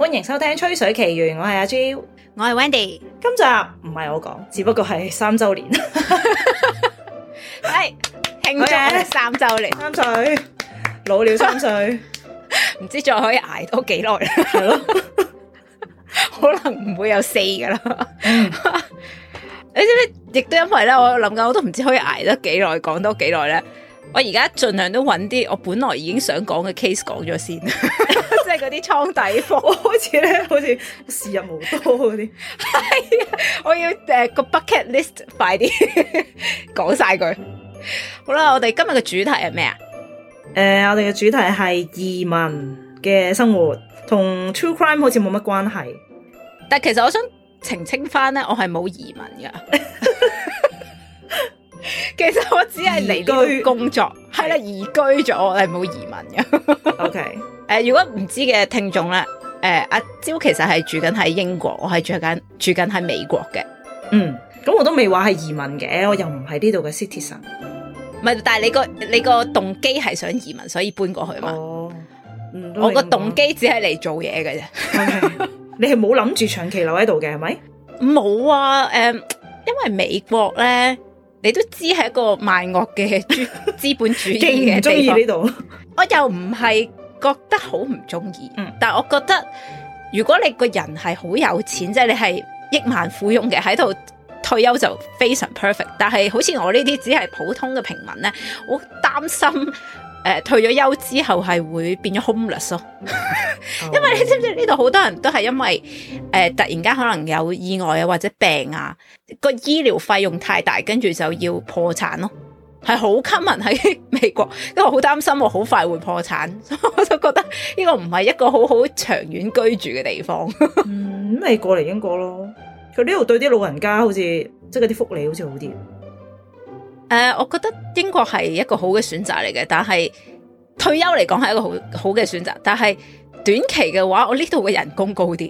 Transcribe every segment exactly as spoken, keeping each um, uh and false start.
歡迎收聽《吹水奇緣》，我係阿 Jill， 我係 Wendy。 今集唔係我講，只不過係三周年， 係慶祝三周年， 三歲老了三歲，唔知再可以捱多幾耐啦， 係咯， 可能唔會有四噶啦。你知唔知？亦都因為咧，我諗緊，我都唔知可以捱得幾耐，講多幾耐咧。我而家盡量都揾啲我本來已經想講嘅 case 講咗先，即係嗰啲倉底貨， 開始咧好似時日無多嗰啲。 係啊，我要誒、uh, 個 bucket list 快啲講晒佢。好啦，我哋今日嘅主題係咩啊？ 誒、呃，我哋嘅主題係移民嘅生活，同 true crime 好似冇乜關係。 但其實我想澄清翻咧，我係冇移民噶。其實我只係嚟呢度工作，係啦，移居咗，我係冇移民嘅。 OK，誒、 呃，如果唔知嘅聽眾咧，誒、呃，阿蕉其實係住緊喺英國，我係住緊住緊喺美國嘅。 嗯，咁我都未話係移民嘅，我又唔係呢度嘅 citizen。 唔係，但係你個你個動機係想移民，所以搬過去嘛？哦， 嗯、 我個動機只係嚟做嘢嘅啫。 Okay. 你係冇諗住長期留喺度嘅係咪？ 冇啊，誒、呃，因為美國咧。你都知係一個萬惡嘅資資本主義嘅地方，中意呢度。我又唔係覺得好唔中意，但係我覺得如果你個人係好有錢，即係你係億萬富翁嘅，喺度退休就非常 perfect。但係好似我呢啲只係普通嘅平民咧，我擔心。誒、呃，退咗休之後係會變咗 homeless 咯，因為你知唔知呢度好多人都係因為誒、呃、突然間可能有意外啊或者病啊，個醫療費用太大，跟住就要破產咯，係好 common 喺美國，因為我好擔心我好快會破產，所以我就覺得呢個唔係一個好好長遠居住嘅地方。 嗯，咁你過嚟英國咯，佢呢度對啲老人家好似即係嗰啲福利好似好啲。 誒、呃，我覺得英國係一個好嘅選擇嚟嘅，但係退休嚟講係一個好好嘅選擇，但係短期嘅話，我呢度嘅人工高啲，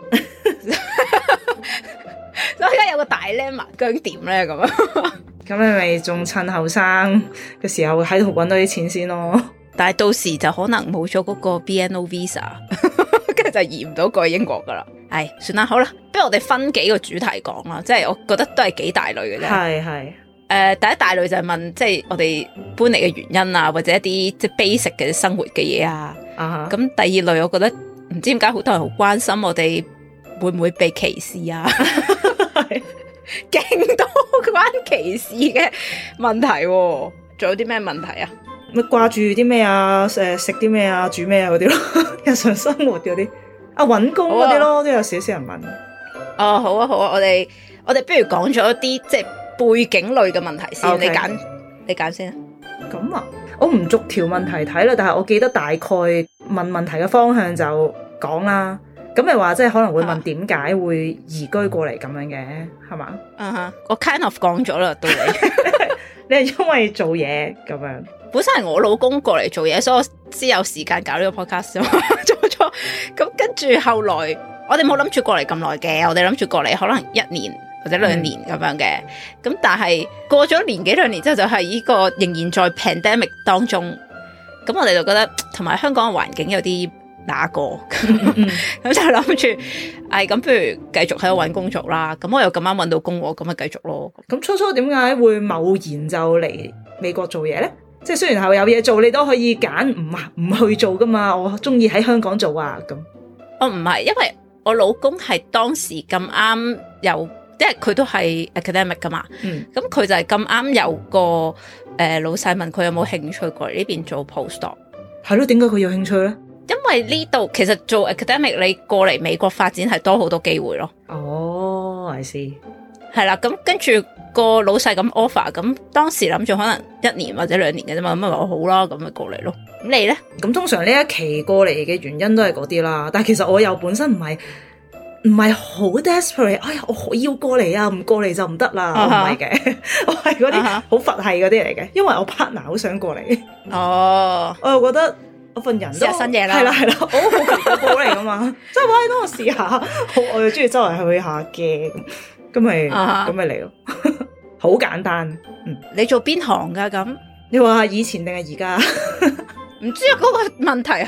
所以而家有個大 dilemma，究竟點咧咁啊？ 咁你咪仲趁後生嘅時候喺度搵到啲錢先咯， 但係到時就可能冇咗嗰個 B N O visa， 跟住就移唔到過去英國噶啦。係，算啦，好啦，不如我哋分幾個主題講啦，即係我覺得都係幾大類嘅啫。係係。誒、呃，第一大類就係問，即係我哋搬嚟嘅原因啊，或者一啲即係 basic 嘅生活嘅嘢啊。咁、uh-huh. 第二類，我覺得唔知點解好多人好關心我哋會唔會被歧視啊？勁多關歧視嘅問題、啊，仲有啲咩問題啊？ 咪掛住啲咩啊？誒，食啲咩啊？煮咩啊？嗰啲咯，日常生活嗰啲啊，搵工嗰啲咯，都有少少人問。 哦，好啊，好啊，我哋我哋不如講咗一啲即係。背景類嘅問題先，okay. 你揀你揀先啊。 咁啊，我唔逐條問題睇啦，但係我記得大概問問題嘅方向就講啦。咁咪話即係可能會問點解會移居過嚟咁樣嘅，係嘛？ 嗯哼，我 kind of 講咗啦，到你。 你係因為做嘢咁樣？ 本身係我老公過嚟做嘢，所以我先有時間搞呢個 podcast 做咗。咁跟住後來，我哋冇諗住過嚟咁耐嘅，我哋諗住過嚟可能一年。或者兩年咁樣嘅，咁、嗯、但係過咗年幾兩年之後，就係呢個仍然在 pandemic 當中，咁我哋就覺得同埋香港嘅環境有啲那個，咁、嗯、就諗住，唉，咁不如繼續喺度搵工作啦。咁我又咁啱搵到工，咁咪繼續咯。 咁初初點解會貿然就嚟美國做嘢咧？即係雖然係有嘢做，你都可以揀唔唔去做噶嘛。我中意喺香港做啊，咁。 我唔係，因為我老公係當時咁啱有。因為佢都係 academic 噶嘛，咁、嗯、佢就係咁啱有個誒、呃、老細問佢有冇興趣過嚟呢邊做 postdoc。 係咯，點解佢有興趣咧？ 因為呢度其實做 academic 你過嚟美國發展係多好多機會咯。 哦，I see。 係啦，咁跟住個老細咁 offer，咁當時諗住可能一年或者兩年嘅啫嘛，咁咪話好啦，咁咪過嚟咯。咁你咧？咁通常呢一期過嚟嘅原因都係嗰啲啦，但係其實我又本身唔係。唔係好 desperate，哎呀，我要過嚟啊，唔過嚟就唔得啦，唔係嘅，我係嗰啲好佛系嗰啲嚟嘅，因為我 partner 好想過嚟。哦，我又覺得我份人都試下新嘢啦， 係啦係啦，我好奇怪過嚟噶嘛，即係喂，等我試下，我我又中意周圍去下嘅，咁咪咁咪嚟咯，好簡單。嗯， 你做邊行噶咁？ 你話以前定係而家？ 唔知啊，嗰個問題係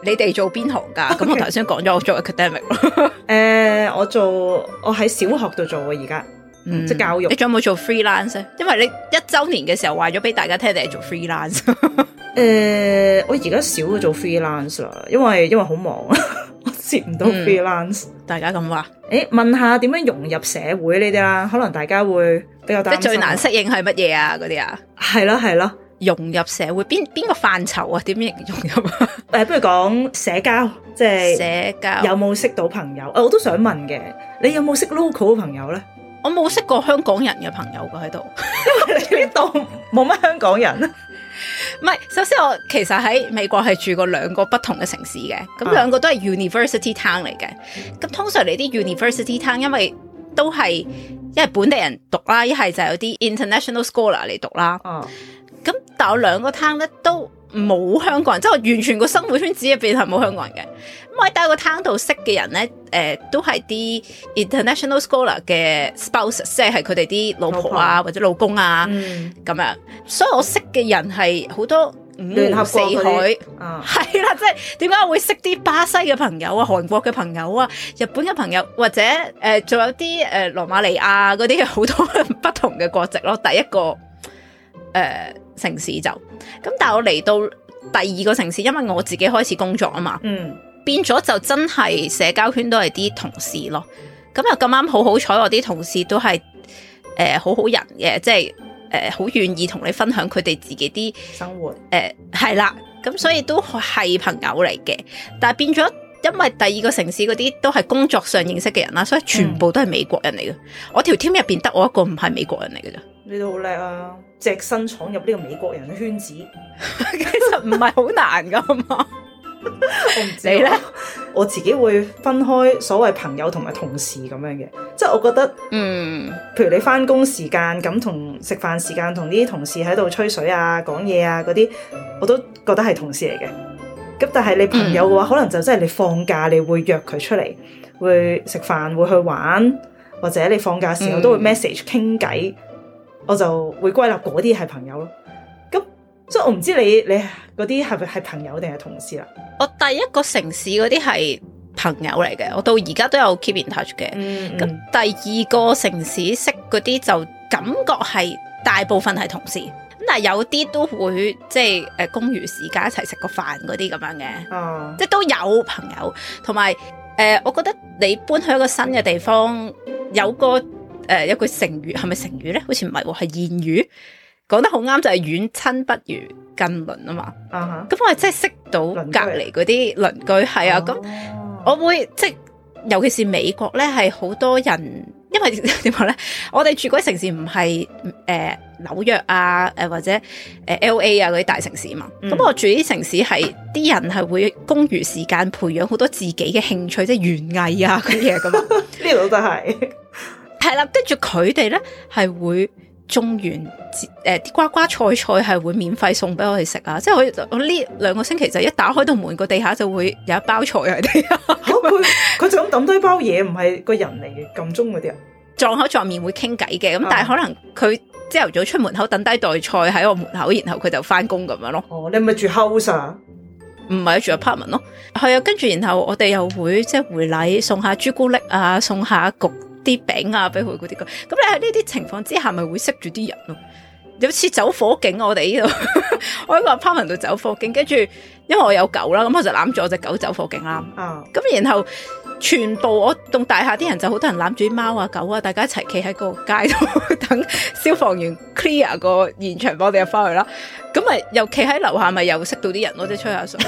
你哋做邊行噶？咁、okay. 我頭先講咗我做 academic 咯。 誒，我做我喺小學度做啊，而家。嗯，即教育。你仲有冇做 freelance 咧？因為你一周年嘅時候話咗俾大家聽，你係做 freelance。誒、 呃，我而家少咗做 freelance 啦，因為因為好忙，我接唔到 freelance、嗯。大家咁話？誒，問下點樣融入社會呢啲啦？可能大家會比較擔心。即最難適應係乜嘢啊？嗰啲啊？係咯係咯，融入社會邊邊個範疇啊？點樣融入啊？誒，不如講社交，即係社交有冇識到朋友？我都想問嘅，你有冇識 local 嘅朋友咧？我冇識過香港人嘅朋友噶喺度，因為你呢度冇乜香港人。唔係，首先我其實喺美國係住過兩個不同嘅城市嘅，咁兩個都係 university town 嚟嘅。咁、啊、通常你啲 university town 因為都係一係本地人讀啦，一係就有啲 international scholar 嚟讀啦。咁、啊、但我兩個 town 咧都冇香港人，即係我完全個生活圈子入邊係冇香港人嘅。咁我喺第一個 town 度識嘅人咧，誒、呃、都係啲 international scholar 嘅 spouse， 即係佢哋啲老婆啊老或者老公啊咁、嗯、樣。所以我識嘅人係好多五湖四海，係啦，即係點解我會識啲巴西嘅朋友啊、韓國嘅朋友啊、日本嘅朋友，或者誒仲、呃、有啲誒羅馬尼亞嗰啲好多不同嘅國籍咯。第一個誒、呃、城市就咁，但係我嚟到第二個城市，因為我自己開始工作啊嘛。嗯。變咗就真係社交圈都係啲同事咯，咁又咁啱好好彩，我啲同事都係誒、呃、好好人嘅，即係誒好願意同你分享佢哋自己啲生活，誒係啦，咁所以都係朋友嚟嘅。但係變咗，因為第二個城市嗰啲都係工作上認識嘅人啦，所以全部都係美國人嚟嘅、嗯。我條 team 入邊得我一個唔係美國人嚟嘅咋。你都好叻啊！隻身闖入呢個美國人嘅圈子，其實唔係好難噶嘛。我唔知咧，我自己會分開所謂朋友同埋同事咁樣嘅，即係我覺得，嗯，譬如你翻工時間咁同食飯時間同啲同事喺度吹水啊、講嘢啊嗰啲，我都覺得係同事嚟嘅。咁但係你朋友嘅話、嗯，可能就真係你放假你會約佢出嚟，會食飯，會去玩，或者你放假時候都會 message 傾偈、嗯，我就會歸納嗰啲係朋友咯。所以我唔知你你嗰啲係咪係朋友定係同事啦？我第一個城市嗰啲係朋友嚟嘅，我到而家都有 keep in touch 嘅。咁、嗯嗯、第二個城市識嗰啲就感覺係大部分係同事，咁但係有啲都會即係誒公餘時間一齊食個飯嗰啲咁樣嘅、嗯，即係都有朋友。同埋誒，我覺得你搬去一個新嘅地方，有個誒、呃、有句成語係咪成語咧？好似唔係喎，係諺語。講得好啱，就係遠親不如近鄰啊嘛。咁、uh-huh. 我係真係識到隔籬嗰啲鄰居，係啊。咁、uh-huh. 我會即係，尤其是美國咧，係好多人，因為點講咧？我哋住嗰啲城市唔係誒紐約啊，誒、呃、或者誒 L A 啊嗰啲大城市嘛。咁、嗯、我住啲城市係啲人係會公餘時間培養好多自己嘅興趣，即係園藝啊嗰啲嘢噶嘛。呢度都係係啦，跟住佢哋咧係會。種完誒啲瓜瓜菜菜係會免費送俾我哋食啊！即係我我呢兩個星期就一打開到門，個地下就會有一包菜喺地下。佢佢就咁抌低包嘢，唔係個人嚟嘅，撳鐘嗰啲啊，撞口撞面會傾偈嘅。咁但係可能佢朝頭早出門口等低袋菜喺我門口，然後佢就翻工咁樣咯。哦，你係咪住 house 啊？唔係住 apartment 咯。係啊，跟住然後我哋又會即係回禮，送下朱古力啊，送下焗啲餅啊，俾佢嗰啲咁，咁你喺呢啲情況之下，咪會識住啲人咯。有次走火警，我哋呢度，我喺個 apartment 度走火警，跟住因為我有狗啦，咁我就攬住我隻狗走火警啦。啊，咁然後全部我棟大廈啲人就好多人攬住啲貓啊狗啊，大家一齊企喺個街度等消防員 clear 個現場，幫我哋入翻去啦。咁咪又企喺樓下，咪又識到啲人咯，即係吹下水。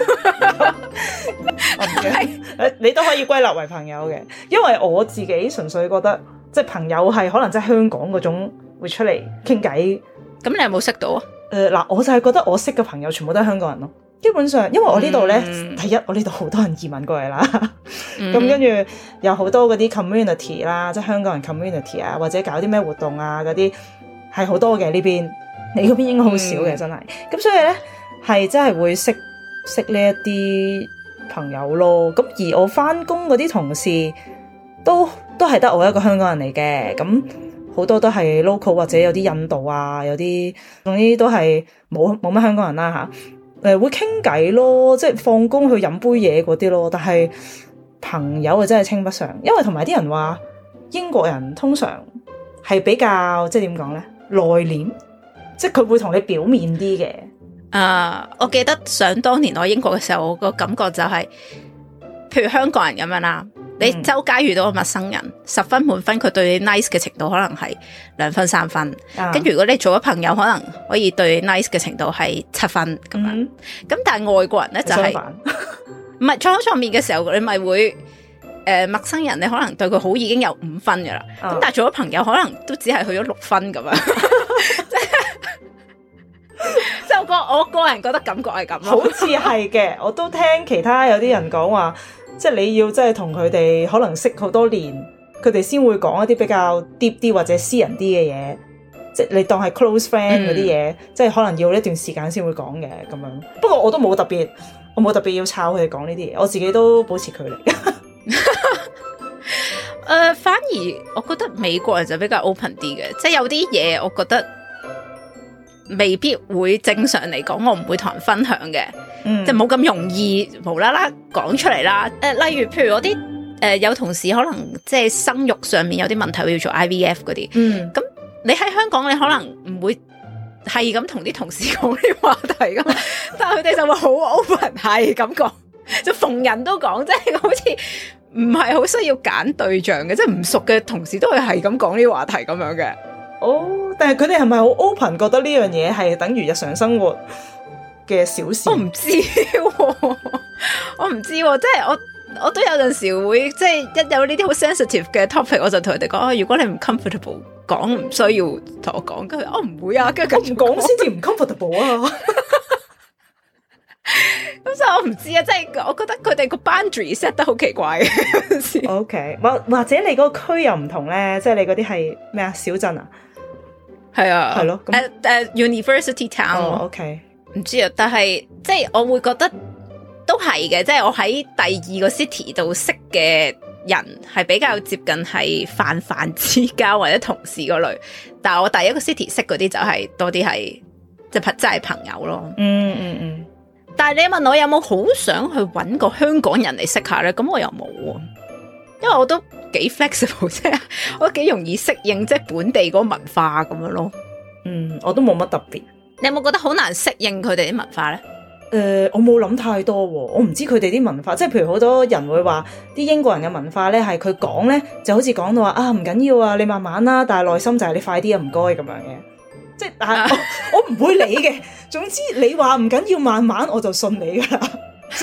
係你都可以歸納為朋友嘅，因為我自己純粹覺得即係朋友係可能即係香港嗰種會出嚟傾偈。咁你有冇識到啊？誒、呃、嗱，我就係覺得我識嘅朋友全部都係香港人咯。基本上，因為我呢度咧，第一我呢度好多人移民過嚟啦，咁跟住有好多嗰啲 community 啦，即係香港人 community 啊，或者搞啲咩活動啊嗰啲係好多嘅呢邊。你嗰邊應該好少嘅、嗯，真係。咁所以咧係真係會識識呢一啲朋友咯。咁而我翻工嗰啲同事都都係得我一個香港人嚟嘅。咁好多都係 local 或者有啲印度啊，有啲總之都係冇冇乜香港人啦吓。 誒會傾偈咯，即係放工去飲杯嘢嗰啲咯。但係朋友啊真係稱不上，因為同埋啲人話英國人通常係比較即係點講咧內斂，即係佢會同你表面啲嘅。 啊！Uh, 我記得想當年我英國嘅時候，我個感覺就係、是，譬如香港人咁樣啦，你周街遇到個陌生人，十分滿分，佢對你 nice 嘅程度可能係兩分三分，跟住、uh. 如果你做咗朋友，可能可以對你 nice 嘅程度係七分咁樣。咁、mm hmm. 但係外國人咧就係唔係撞口撞面嘅時候，你咪會誒、呃、陌生人，你可能對佢好已經有五分噶啦，咁、uh. 但係做咗朋友，可能都只係去咗六分咁樣。即係我個我個人覺得感覺係咁咯， 好似係嘅。我都聽其他有啲人講話，即係你要即係同佢哋可能識好多年，佢哋先會講一啲比較 deep 啲或者私人啲嘅嘢，即係你當係 close friend 嗰啲嘢，嗯、即係可能要一段時間先會講嘅咁樣。不過我都冇特別，我冇特別要抄佢哋講呢啲嘢，我自己都保持距離。誒、 呃，反而我覺得美國人就比較 open 啲嘅，即係有啲嘢我覺得。未必會正常嚟講，我唔會同人分享嘅，嗯、即係冇咁容易無啦啦講出嚟啦。誒、呃，例如譬如我啲誒、呃、有同事可能即係生育上面有啲問題，要做 I V F 嗰啲，咁、嗯、你喺香港你可能唔會係咁同啲同事講呢啲話題噶嘛，但係佢哋就會好 open 係咁講，就逢人都講，即係好似唔係好需要揀對象嘅，即係唔熟嘅同事都會係咁講呢啲話題咁樣嘅。 哦，但係佢哋係咪好 open，覺得呢樣嘢係等於日常生活嘅小事？ 我唔知、啊，我唔知、啊，即係我我都有陣時會即係一有呢啲好 sensitive 嘅 topic，我就同佢哋講啊，如果你唔 comfortable 講，唔需要同我講。跟住我唔會啊，跟住我唔講先至唔 comfortable 啊。咁所以我唔知啊，即係我覺得佢哋個 boundary set 得好奇怪嘅。 O K， 或或者你嗰個區又唔同咧，即係你嗰啲係咩啊？小鎮啊？係啊，係咯， 誒誒 University Town，O K，唔知啊，但係即係我會覺得都係嘅，即係我喺第二個 city 度識嘅人係比較接近係泛泛之交或者同事嗰類，但係我第一個 city 識嗰啲就係多啲係即係真係朋友咯。嗯嗯嗯。但係你問我有冇好想去搵個香港人嚟識下咧？咁我又冇啊，因為我都幾 flexible 啫，我都幾容易適應即係本地嗰個文化咁樣咯。 嗯，我都冇乜特別。 你有冇覺得好難適應佢哋啲文化咧？ 誒、呃，我冇諗太多，我唔知佢哋啲文化，即係譬如好多人會話啲英國人嘅文化咧，係佢講咧就好似講到話啊唔緊要啊，你慢慢啦，但係內心就係你快啲啊，唔該咁樣嘅。即係但係我我唔會理嘅，總之你話唔緊要慢慢，我就信你噶啦。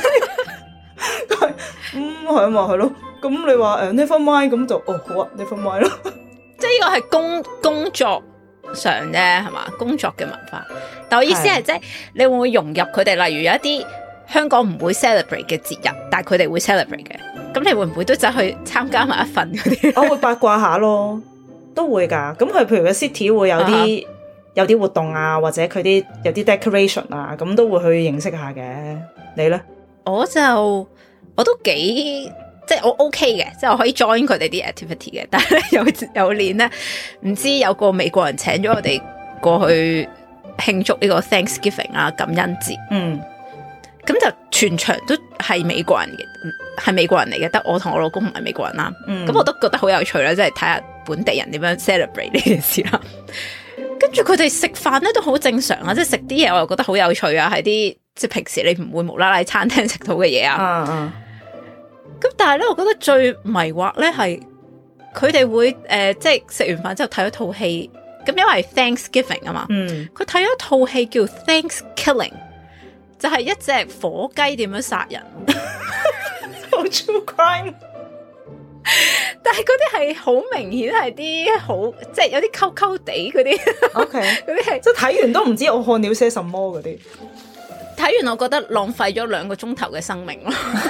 嗯，係啊嘛，係咯。咁你話誒 never mind 咁就哦好啊 never mind 咯。 即係呢個係工工作上啫，係嘛？工作嘅文化。但我意思係即係你會唔會融入佢哋？例如有一啲香港唔會 celebrate 嘅節日，但係佢哋會 celebrate 嘅。咁你會唔會都走去參加埋一份嗰啲？ 我會八卦下咯，都會噶。咁佢譬如個 city 會有啲。Uh huh. 有啲活動啊，或者佢啲有啲 decoration 啊，咁都會去認識下嘅。你咧？ 我就我都幾即係我 OK 嘅，即係我可以 join 佢哋啲 activity 嘅。但係咧有有年咧，唔知有個美國人請咗我哋過去慶祝呢個 Thanksgiving 啊，感恩節。嗯，咁就全場都係美國人嘅，係美國人嚟嘅，得我同我老公唔係美國人啦。嗯，咁我都覺得好有趣啦，即係睇下本地人點樣 celebrate 呢件事啦。跟住佢哋食飯咧都好正常啊，即係食啲嘢我又覺得好有趣啊，係啲即係平時你唔會無啦啦喺餐廳食到嘅嘢啊。嗯嗯。咁但係咧，我覺得最迷惑咧係佢哋會誒、呃，即係食完飯之後睇咗套戲，咁因為 Thanksgiving 啊嘛。嗯。佢睇咗套戲叫 Thanksgiving，就係一隻火雞點樣殺人。 好 true crime。 但係嗰啲係好明顯係啲好即係有啲溝溝地嗰啲，OK，嗰啲係即係睇完都唔知我看了些什麼嗰啲。 睇完我覺得浪費咗兩個鐘頭嘅生命咯。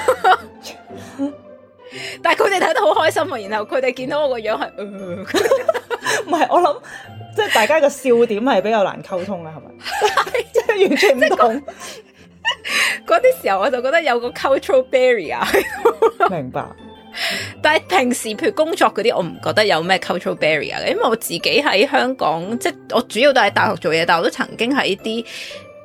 但係佢哋睇得好開心啊，然後佢哋見到我個樣係， 唔係我諗即係大家個笑點係比較難溝通啦，係咪？即係完全唔同。 嗰啲時候我就覺得有個 cultural barrier。 明白。 但係平時譬如工作嗰啲，我唔覺得有咩 cultural barrier 嘅，因為我自己喺香港，即係我主要都喺大學做嘢，但係我都曾經喺啲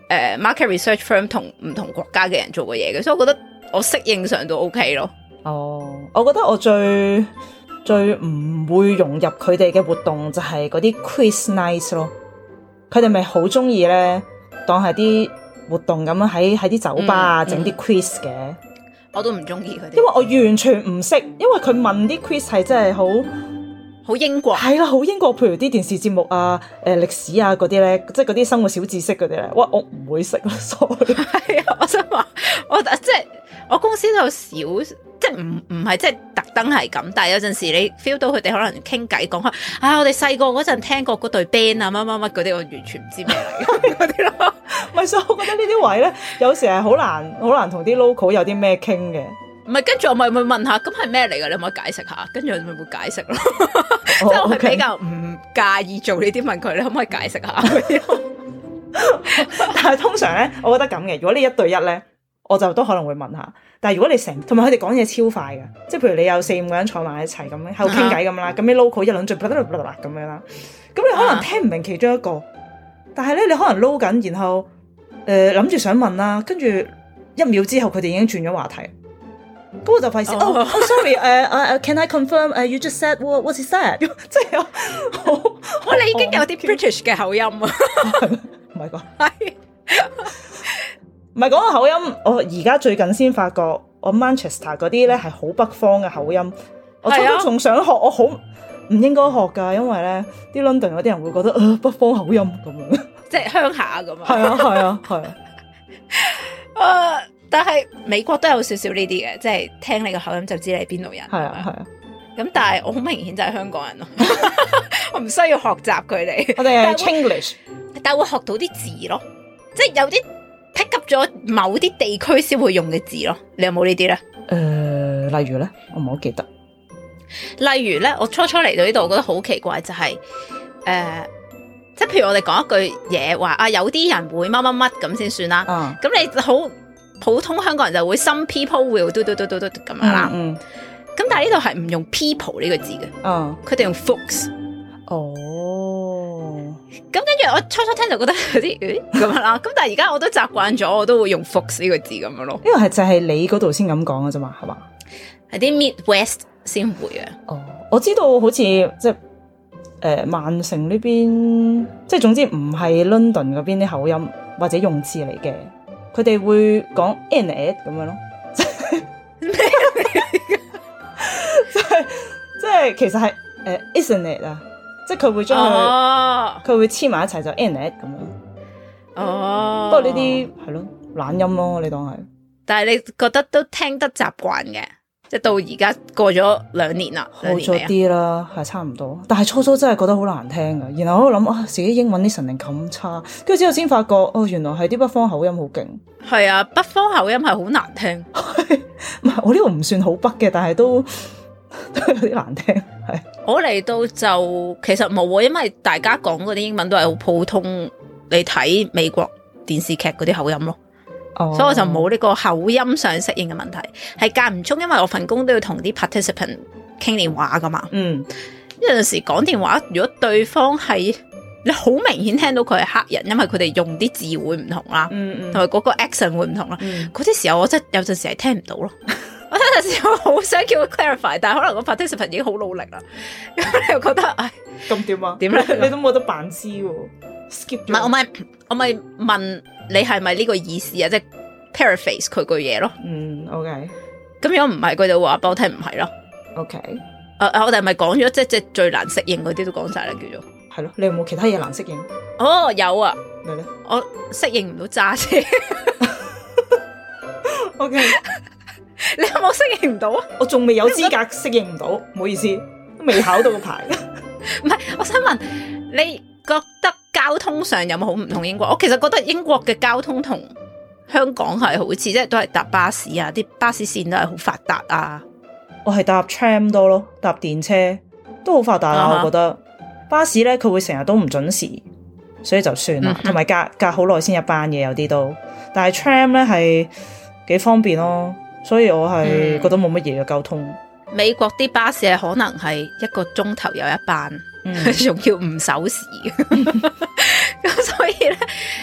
呃、market research firm 同唔同國家嘅人做過嘢嘅，所以我覺得我適應上都 OK 咯。 哦，我覺得我最最唔會融入佢哋嘅活動就係嗰啲 quiz night 咯。佢哋咪好中意咧，當係啲活動咁樣喺喺啲酒吧啊整啲 quiz 嘅。 我都唔中意佢哋， 因為我完全唔識，因為佢問啲 quiz 係真係好好英國， 係啦，好英國。譬如啲電視節目啊、誒、呃、歷史啊嗰啲咧，即係嗰啲生活小知識嗰啲咧，哇，我唔會識咯，sorry。係啊，我想話，我即係我公司都有少。即係唔唔係即係特登係咁，但係有陣時你 feel 到佢哋可能傾偈講開，啊我哋細個嗰陣聽過嗰隊 band 啊乜乜乜嗰啲，我完全唔知咩嚟嗰啲咯。咪所以我覺得呢啲位咧，有時係好難好難同啲 local 有啲咩傾嘅。唔係，跟住我咪會問下，咁係咩嚟㗎？你可唔可以解釋下？跟住我咪會解釋咯。即係我係比較唔介意做呢啲問佢，你可唔可以解釋下？ 但係通常咧，我覺得咁嘅，如果你一對一咧，我就都可能會問下。但係如果你成，同埋佢哋講嘢超快嘅，即係譬如你有四五個人坐埋一齊咁樣喺度傾偈咁啦，咁啲 local 一輪嘴，咁樣啦，咁你可能聽唔明其中一個，但係咧你可能撈緊，然後誒諗住想問啦，跟住一秒之後佢哋已經轉咗話題，咁我就費事哦哦 sorry 誒誒 can I confirm 誒 you just said what what is that？ 即係我我你已經有啲 British 嘅口音啊， 唔係講係。唔係講個口音，我而家最近先發覺，我 Manchester 嗰啲咧係好北方嘅口音。我初初仲想學，我好唔應該學噶，因為咧啲 London 嗰啲人會覺得，呃，北方口音咁樣， 即係鄉下咁啊。 係啊，係啊，係啊。 誒，但係美國都有少少呢啲嘅，即係聽你個口音就知你係邊度人。 係啊，係啊。咁但係我好明顯就係香港人咯，我唔需要學習佢哋。 我哋係 Chinglish， 但係會學到啲字咯，即係有啲。pick up 咗某啲地區先會用嘅字咯，你有冇呢啲咧？ 誒、呃，例如咧，我唔好記得。 例如咧，我初初嚟到呢度，我覺得好奇怪，就係、是、誒、呃，即係譬如我哋講一句嘢，話啊，有啲人會乜乜乜咁先算啦。嗯。咁你好普通香港人就會 some people will 嘟嘟嘟嘟嘟咁樣啦。嗯。咁但係呢度係唔用 people 呢個字嘅。嗯。佢哋用 folks。哦。咁跟住我初初聽就覺得有啲誒咁樣啦，咁但係而家我都習慣咗，我都會用 folks 呢個字咁樣咯。 因為係就係你嗰度先咁講嘅啫嘛，係嘛？ 係啲 Midwest 先會啊。哦， 我知道好似即係誒曼城呢邊，即係總之唔係 London 嗰邊啲口音或者用字嚟嘅，佢哋會講 in it 咁樣咯。咩嚟嘅？即係即係其實係誒、呃、isn't it 啊？即係佢會將佢，佢、oh. 會黐埋一齊就 in it 咁樣。哦，不過呢啲係咯懶音咯，你當係。但係你覺得都聽得習慣嘅，即係到而家過咗兩年啦，好咗啲啦，係差唔多。但係初初真係覺得好難聽噶，然後我諗啊，自己英文啲神靈咁差，跟住之後先發覺哦，原來係啲北方口音好勁。係啊，北方口音係好難聽。唔係我呢度唔算好北嘅，但係都。都有啲難聽，係我嚟到就其實冇，因為大家講嗰啲英文都係好普通，你睇美國電視劇嗰啲口音咯，oh. 所以我就冇呢個口音上適應嘅問題，係間唔中，因為我份工都要同啲 participant 傾電話噶嘛，嗯，有陣時講電話，如果對方係你好明顯聽到佢係黑人，因為佢哋用啲字會唔同啦，嗯嗯，同埋嗰個 accent 會唔同啦，嗰啲、嗯、時候我真係有陣時係聽唔到咯。我有陣時我好想叫佢 clarify， 但係可能個 participant 已經好努力啦，咁你又覺得唉，咁點啊？點咧？你都冇得扮知喎 ，skip 唔係我咪我咪問你係咪呢個意思啊？即係 paraphrase 佢句嘢咯。嗯 ，OK。咁如果唔係，佢就話俾我聽唔係咯。OK。誒、uh, 我哋咪講咗即係即係最難適應嗰啲都講晒啦，叫做係咯。你有冇其他嘢難適應？哦，oh, 有啊。你咧？我適應唔到揸車。OK。你有冇適應唔到啊？我仲未有資格適應唔到，唔好意思，都未考到個牌。唔係，我想問你覺得交通上有冇好唔同英國？我其實覺得英國嘅交通同香港係好似，即係都係搭巴士啊，啲巴士線都係好發達啊。我係搭 tram 多咯，搭電車都好發達啊。Uh huh. 我覺得巴士咧，佢會成日都唔準時，所以就算啦。同埋、uh huh. 隔隔好耐先一班嘢，有啲都。但係 tram 咧係幾方便咯。所以我係覺得冇乜嘢嘅交通。嗯、美國啲巴士係可能係一個鐘頭有一班，仲、嗯、要唔守時。咁所以咧，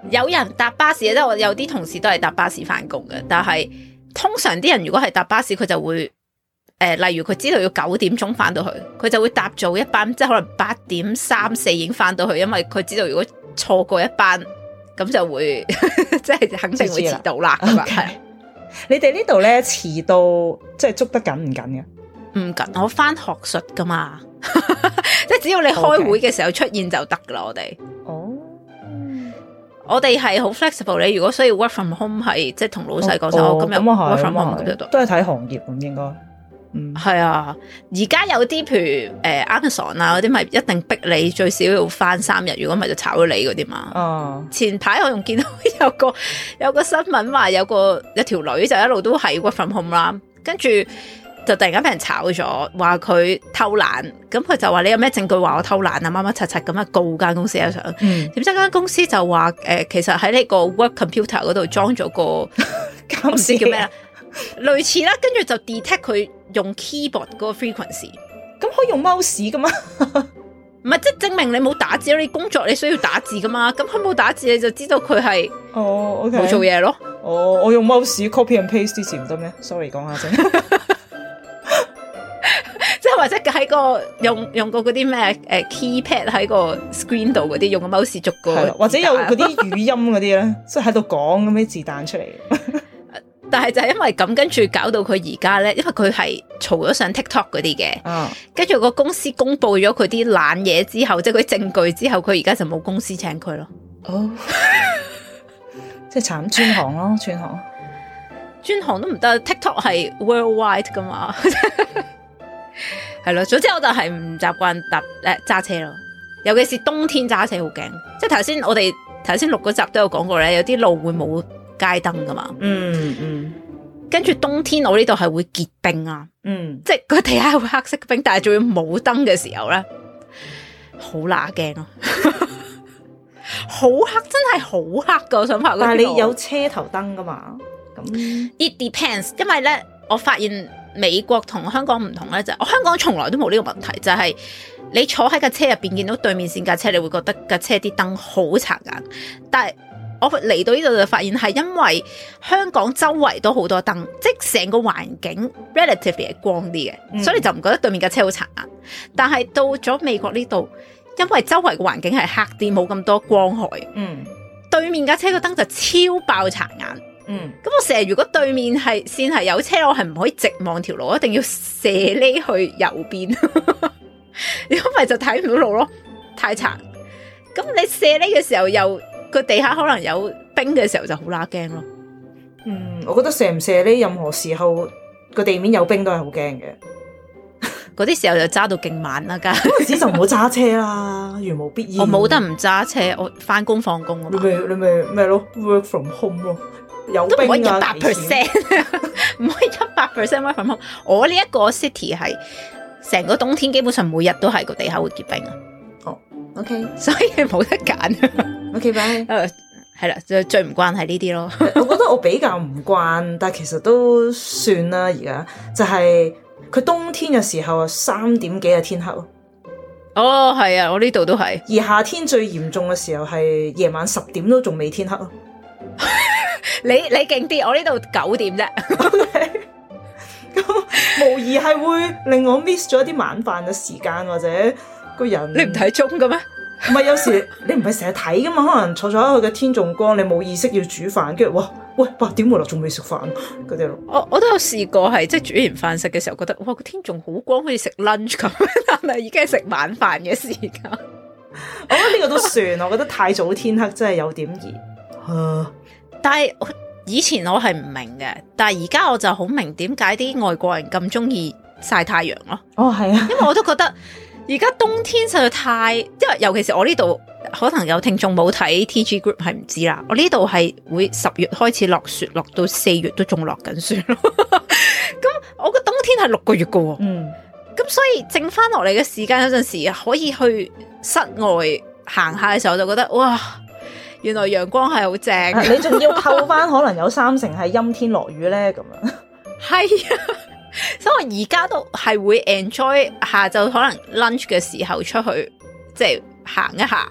有人搭巴士，即係我有啲同事都係搭巴士翻工嘅，但係通常啲人如果係搭巴士，佢就會誒、呃，例如佢知道要九點鐘翻到去，佢就會搭早一班，即係可能八點三四已經翻到去，因為佢知道如果錯過一班，咁就會即係肯定會遲到啦。咁啊，係你哋呢度咧遲到即係捉得緊唔緊嘅？ 唔緊，我翻學術噶嘛，即係只要你開會嘅時候出現就得噶啦，我哋。哦。我哋係好 flexible，你如果需要 work from home 係即係同老細講聲，我今日 work from home 咁就得。 都係睇行業咁應該。嗯， 係啊，而家有啲譬如誒、呃、Amazon 啊嗰啲，咪一定逼你最少要翻三日，如果唔係就炒咗你嗰啲嘛。哦。前排我仲見到有個有個新聞話有個有條女就一路都係 work from home 啦，跟住就突然間俾人炒咗，話佢偷懶，咁佢就話你有咩證據話我偷懶啊？乜乜柒柒咁啊，告間公司啊上，點知間公司就話誒、呃，其實喺呢個 work computer 嗰度裝咗個唔知叫咩啦，類似啦，跟住就 detect 佢用 keyboard 嗰個 frequency， 咁可以用 mouse 噶嘛？ 唔係，即係證明你冇打字咯，你工作你需要打字噶嘛，咁佢冇打字你就知道佢係哦，OK 冇做嘢咯。 哦，我用 mouse copy and paste 之前唔得咩 ？Sorry， 講下先。 即係或者喺個用用過嗰啲咩誒 keypad 喺個 screen 度嗰啲，用個 mouse 逐個， 或者有嗰啲語音嗰啲咧，即係喺度講咁啲字彈出嚟。 但係就係因為咁，跟住搞到佢而家咧，因為佢係嘈咗上 TikTok 嗰啲嘅，跟住個公司公布咗佢啲懶嘢之後，即係佢啲證據之後，佢而家就冇公司請佢咯。哦， 即係慘轉行咯，轉行， 轉行都唔得。TikTok 係 worldwide 噶嘛。係咯，總之我就係唔習慣搭誒揸車咯，尤其是冬天揸車好驚。即係頭先我哋頭先錄嗰集都有講過咧，有啲路會冇街燈噶嘛。嗯嗯。跟住冬天我呢度係會結冰啊。嗯。即係個地下會黑色冰，但係仲要冇燈嘅時候咧，好乸驚咯。好黑，真係好黑噶！我想拍。 但係你有車頭燈噶嘛？咁 it depends， 因為咧我發現。美國同香港唔同咧，就係、我香港從來都冇呢個問題，就係、係、你坐喺架車入邊見到對面線架車，你會覺得架車啲燈好殘眼。但係我嚟到呢度就發現係因為香港周圍都好多燈，即係成個環境 relatively 係光啲嘅，嗯、所以你就唔覺得對面架車好殘眼。但係到咗美國呢度，因為周圍嘅環境係黑啲，冇咁多光害，嗯，對面架車個燈就超爆殘眼。嗯，咁我成日如果對面係線係有車，我係唔可以直望條路，一定要斜呢去右邊，如果唔係就睇唔到路咯，太殘。咁你斜呢嘅時候又個地下可能有冰嘅時候就好乸驚咯。 嗯，我覺得射唔射呢，任何時候個地面有冰都係好驚嘅。 嗰啲時候就揸到勁慢啦，梗係嗰陣時就唔好揸車啦，如無必要。 我冇得唔揸車，我翻工放工啊嘛。 你咪你咪咩咯 ，work from home 咯。有都唔可以一百 percent， 唔可以一百 percent work from home。我呢一個 city 係成個冬天基本上每日都係個地下會結冰啊。 哦 ，OK， 所以冇得揀。 OK，bye。 誒，係啦，最最唔慣係呢啲咯。 我覺得我比較唔慣，但係其實都算啦。而家就係佢冬天嘅時候啊，三點幾啊天黑咯。 哦，係啊，我呢度都係。 而夏天最嚴重嘅時候係夜晚十點都仲未天黑咯。 你你勁啲，我呢度九點啫。 咁無疑係會令我 miss 咗一啲晚飯嘅時間，或者個人。 你唔睇鐘嘅咩？ 唔係，有時你唔係成日睇噶嘛？可能坐咗喺佢嘅天仲光，你冇意識要煮飯，跟住哇喂八點回來仲未食飯嗰啲咯。 我我都有試過係即係煮完飯食嘅時候，覺得哇個天仲好光，好似食 lunch 咁，但係已經係食晚飯嘅時間。 我覺得呢個都算，我覺得太早天黑真係有點熱。啊但係以前我係唔明嘅，但係而家我就好明點解啲外國人咁中意曬太陽咯。 哦，係啊， 因為我都覺得而家冬天實在太，因為尤其是我呢度可能有聽眾冇睇 T G Group 係唔知啦。我呢度係會十月開始落雪，落到四月都仲落緊雪咯。咁我個冬天係六個月噶，嗯，咁所以剩翻落嚟嘅時間有陣時可以去室外行下嘅時候，我就覺得哇！原來陽光係好正， 你仲要扣翻可能有三成係陰天落雨咧咁樣。 係啊，所以我而家都係會 enjoy 下晝可能 lunch 嘅時候出去即係行一行，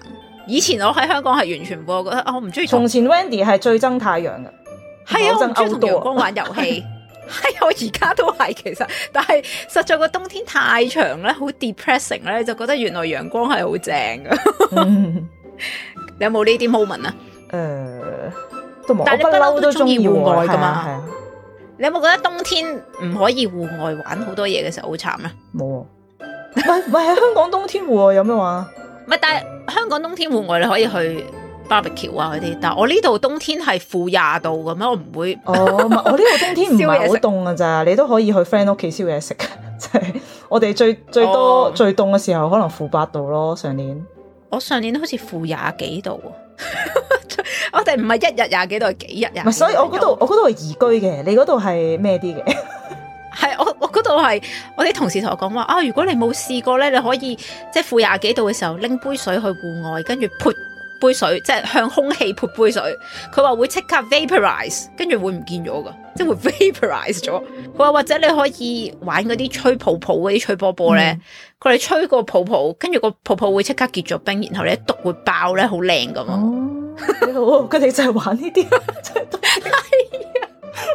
以前我喺香港係完全唔會，我覺得啊，我唔中意。 從前 Wendy 係最憎太陽嘅， 係啊，我唔中意同陽光玩遊戲。係我而家都係其實，但係實在個冬天太長咧，好 depressing 咧，就覺得原來陽光係好正噶。嗯、你有冇呢啲 moment 啊？誒、呃，都冇。但係你不嬲都中意戶外噶嘛？係啊。你有冇覺得冬天唔可以戶外玩好多嘢嘅時候好慘啊？冇啊。唔係唔係喺香港冬天戶外有咩玩？唔係，但係香港冬天戶外你可以去 barbecue 啊嗰啲，但係我呢度冬天係負廿度咁樣，我唔會。哦，我呢度冬天唔係好凍噶咋，你都可以去 friend 屋企燒嘢食。即係我哋最最多、哦、最凍嘅時候可能負八度咯，上年。我上年好似負廿幾度。我哋唔係一日廿幾度，係幾日廿幾度。所以我嗰度我嗰度係宜居嘅，你嗰度係咩啲嘅？係我我嗰度係我啲同事同我講話啊，如果你冇試過咧，你可以即係負廿幾度嘅時候拎杯水去戶外，跟住潑杯水，即係向空氣潑杯水。佢話會即刻 vaporize， 跟住會唔見咗噶，即係會 vaporize 咗。佢話或者你可以玩嗰啲吹泡泡嗰啲吹波波咧，佢哋、嗯、吹個泡泡，跟住個泡泡會即刻結咗冰，然後你一篤會爆咧，好靚噶嘛。哦，佢哋就係玩呢啲，真係係啊。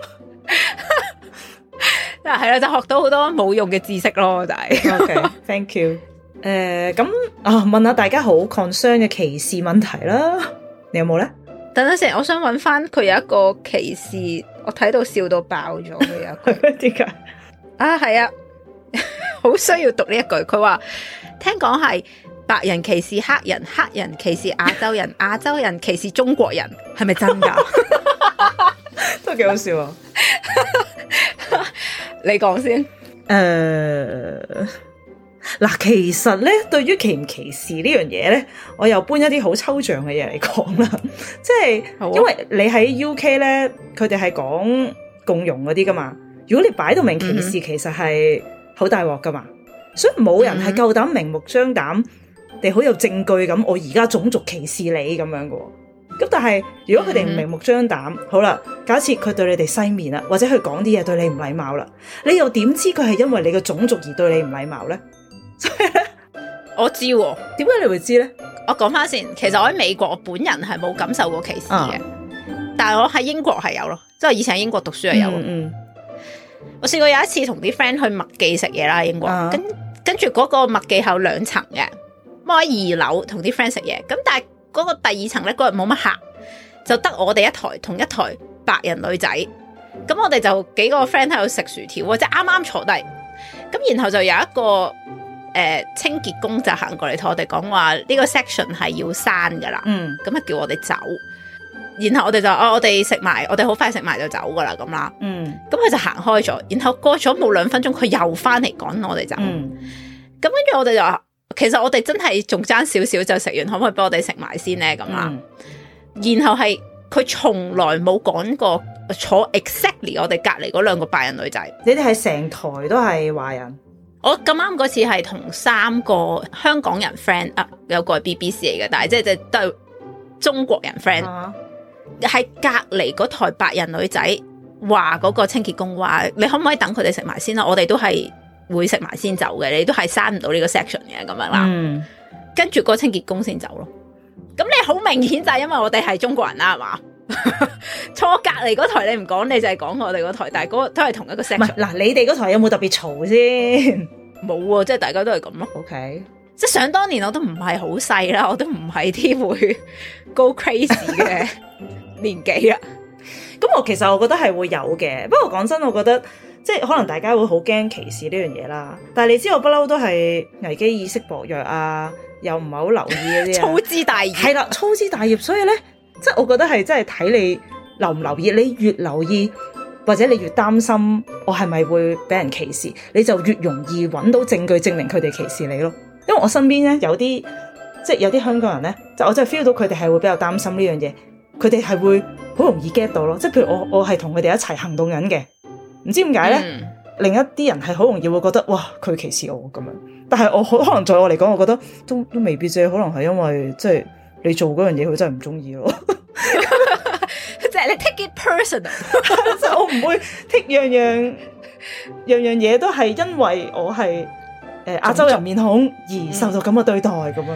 嗱，係啦，就學到好多冇用嘅知識咯，就係。OK，thank you。誒，咁啊，問下大家好 concern 嘅歧視問題啦，你有冇咧？等陣先，我想揾翻佢有一個歧視，我睇到笑到爆咗嘅有一句。點解？啊，係啊，好需要讀呢一句。佢話聽講係白人歧視黑人，黑人歧視亞洲人，亞洲人歧視中國人，係咪真噶？都幾好笑啊！你講先。誒、呃，嗱，其實咧，對於歧唔歧視呢樣嘢咧，我又搬一啲好抽象嘅嘢嚟講啦。即係，啊、因為你喺 U K 咧，佢哋係講共融嗰啲噶嘛。如果你擺到明歧視，嗯、其實係好大鑊噶嘛。所以冇人係夠膽明目張膽地好有證據咁，我而家種族歧視你咁樣噶。咁但係如果佢哋唔明目張膽，嗯、好啦，假設佢對你哋西面啦，或者佢講啲嘢對你唔禮貌啦，你又點知佢係因為你嘅種族而對你唔禮貌咧？所以咧，我知喎、啊，點解你會知咧？我講翻先，其實我喺美國，我本人係冇感受過歧視嘅，啊、但係我喺英國係有咯，即係以前喺英國讀書係有。嗯，嗯我試過有一次同啲 friend 去麥記食嘢啦，英國，啊、跟跟住嗰個麥記係有兩層嘅，我喺二樓同啲 friend 食嘢，咁但係。嗰個第二層咧，嗰日冇乜客，就得我哋一台同一台白人女仔，咁我哋就幾個 friend 喺度食薯條，或者啱啱坐低，咁然後就有一個誒、呃、清潔工就行過嚟同我哋講話呢個 section 係要閂噶啦，嗯，咁啊叫我哋走，然後我哋就哦我哋食埋，我哋好快食埋就走噶啦咁啦，嗯，咁佢就行開咗，然後過咗冇兩分鐘，佢又翻嚟趕我哋走，嗯，咁跟住我哋就話。其實我哋真係仲爭少少就食完，可唔可以幫我哋食埋先咧？咁啦，嗯、然後係佢從來冇講過坐 exactly 我哋隔籬嗰兩個白人女仔。你哋係成台都係華人？我咁啱嗰次係同三個香港人 friend 啊，有個係 B B C 嚟嘅，但係即係即係都係中國人 friend。喺、啊、隔籬嗰台白人女仔話嗰個清潔工話：你可唔可以等佢哋食埋先啦？我哋都係。會食埋先走嘅，你都係閂唔到呢個 section 嘅咁樣啦。嗯，跟住個清潔工先走咯。咁你好明顯就係因為我哋係中國人啦，係嘛？坐隔籬嗰台你唔講，你就係講我哋嗰台，但係嗰個都係同一個 section。唔係嗱，你哋嗰台有冇特別嘈先？冇啊，即係大家都係咁咯。OK，即係想當年我都唔係好細啦，我都唔係啲會 go crazy 嘅年紀啦。咁我其實我覺得係會有嘅，不過講真，我覺得。即係可能大家會好驚歧視呢樣嘢啦，但係你知我不嬲都係危機意識薄弱啊，又唔係好留意嗰啲粗枝大葉係啦，粗枝大葉，所以咧，即係我覺得係真係睇你留唔留意，你越留意或者你越擔心我係咪會俾人歧視，你就越容易揾到證據證明佢哋歧視你咯。因為我身邊咧有啲即係有啲香港人咧，就我真係 feel 到佢哋係會比較擔心呢樣嘢，佢哋係會好容易 get 到咯。即係譬如我我係同佢哋一齊行動緊嘅。唔知點解咧？嗯、另一啲人係好容易會覺得哇，佢歧視我咁樣。但係我可可能在我嚟講，我覺得都都未必啫。可能係因為即係你做嗰樣嘢，佢真係唔中意咯。即係你 take it personal，即係我唔會 take 樣樣樣樣嘢都係因為我係誒亞洲人面孔而受到咁嘅對待咁樣。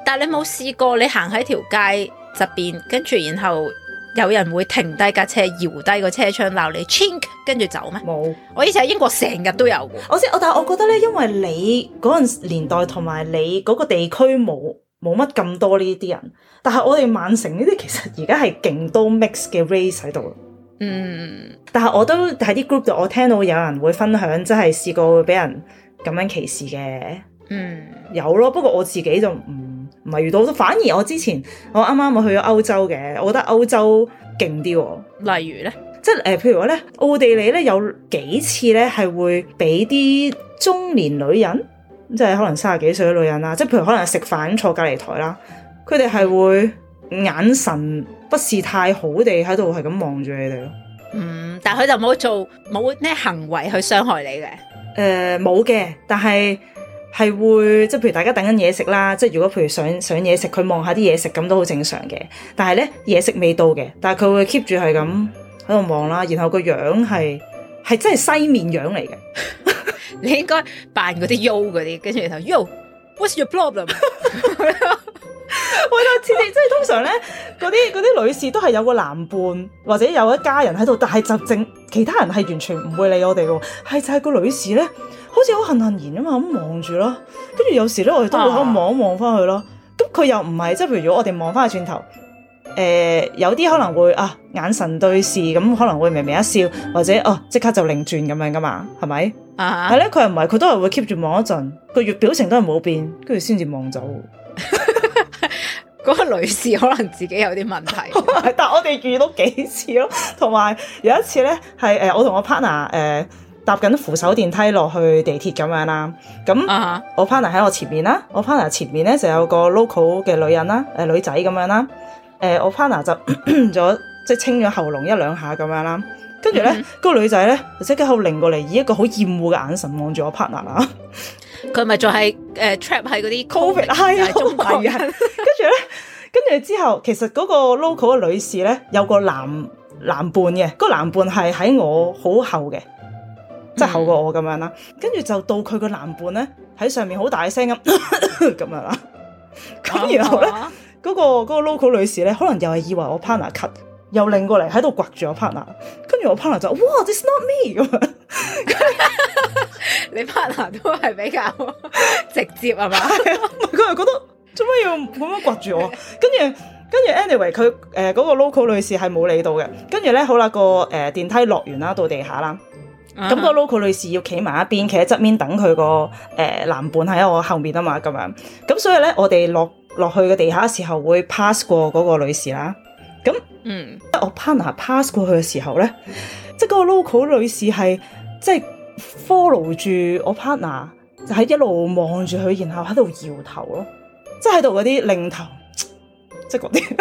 但係你冇試過你行喺條街側邊，跟住然後有人會停低架車，搖低個車窗鬧你 chink， 跟住走咩？冇。我以前喺英國成日都有嘅。 我知，我但係我覺得咧，因為你嗰陣年代同埋你嗰個地區冇冇乜咁多呢啲人，但係我哋曼城呢啲其實而家係勁多 mix 嘅 race 喺度。嗯，但係我都喺啲 group 度，我聽到有人會分享，即係試過會俾人咁樣歧視嘅。嗯，有咯，不過我自己就唔唔係遇到，反而我之前我啱啱我去咗歐洲嘅，我覺得歐洲勁啲。 例如咧， 即係誒、呃，譬如話咧，奧地利咧有幾次咧係會俾啲中年女人，即係可能三十幾歲嘅女人啦，即係譬如可能食飯坐隔籬台啦，佢哋係會眼神不是太好地喺度係咁望住你哋咯。 嗯，但係佢就冇做冇咩行為去傷害你嘅。誒、 呃，冇嘅，但係係會即係譬如大家等緊嘢食啦，即係如果譬如上上嘢食，佢望下啲嘢食咁都好正常嘅。但係咧嘢食未到嘅，但係佢會 keep 住係咁喺度望啦，然後個樣係係真係西面樣嚟嘅。 你應該扮嗰啲 yo 嗰啲，跟住然後 yo，what's your problem？ 我就似你，即係通常咧，嗰啲嗰啲女士都係有個男伴或者有一家人喺度，但係就正其他人係完全唔會理我哋嘅，係就係個女士咧，好似好恨恨然啊嘛咁望住咯，跟住有時咧我哋都會喺度望一望翻去咯，咁佢又唔係即係譬如如果我哋望翻去轉頭，誒、呃、有啲可能會啊眼神對視，咁可能會微微一笑，或者哦即刻就擰轉咁樣噶嘛，係咪？啊，係咧，佢又唔係，佢都係會 keep 住望一陣，個月表情都係冇變，跟住先至望走。 嗰個女士可能自己有啲問題， 但係我哋遇到幾次咯，同埋有，有一次咧係誒我同我 partner 誒、呃、搭緊扶手電梯落去地鐵咁樣啦，咁、uh-huh. 我 partner 喺我前面啦，我 partner 前面咧就有個 local 嘅女人啦，誒、呃、女仔咁樣啦，誒、呃、我 partner 就咗即係清咗喉嚨一兩下咁樣啦，跟住咧嗰個女仔咧就即刻好擰過嚟，以一個好厭惡嘅眼神望住我 partner 啦。 佢咪就係誒 trap 喺嗰啲 covid 係啊，中國人。跟住咧，跟住之後，其實嗰個 local 嘅女士咧有個男男伴嘅，嗰、嗰個男伴係喺我好後嘅，即係後過我咁樣啦。跟、嗯、住就到佢個男伴咧喺上面好大聲咁咁樣啦。咁然後咧，嗰、啊嗰個嗰、嗰個 local 女士咧，可能又係以為我 partner cut，又擰過嚟喺度刮住我 partner。跟住我 partner 就哇 ，this not me 咁樣。 你 partner 都係比較直接係嘛？ 佢係覺得做乜要咁樣刮住我？跟住跟住 anyway 佢誒嗰個 local 女士係冇理到嘅。跟住咧好啦，個誒、呃、電梯落完啦，到地下啦。咁、uh-huh. 個 local 女士要企埋一邊，企喺側邊等佢個誒男伴喺我後面啊嘛，咁樣。咁所以咧，我哋落落去嘅地下嘅時候會 pass 過嗰個女士啦。咁嗯，我 partner pass 過去嘅時候咧，即係嗰個 local 女士係即係 follow 住我 partner，就喺一路望住佢，然後喺度搖頭咯，即係喺度嗰啲擰頭，即係嗰啲，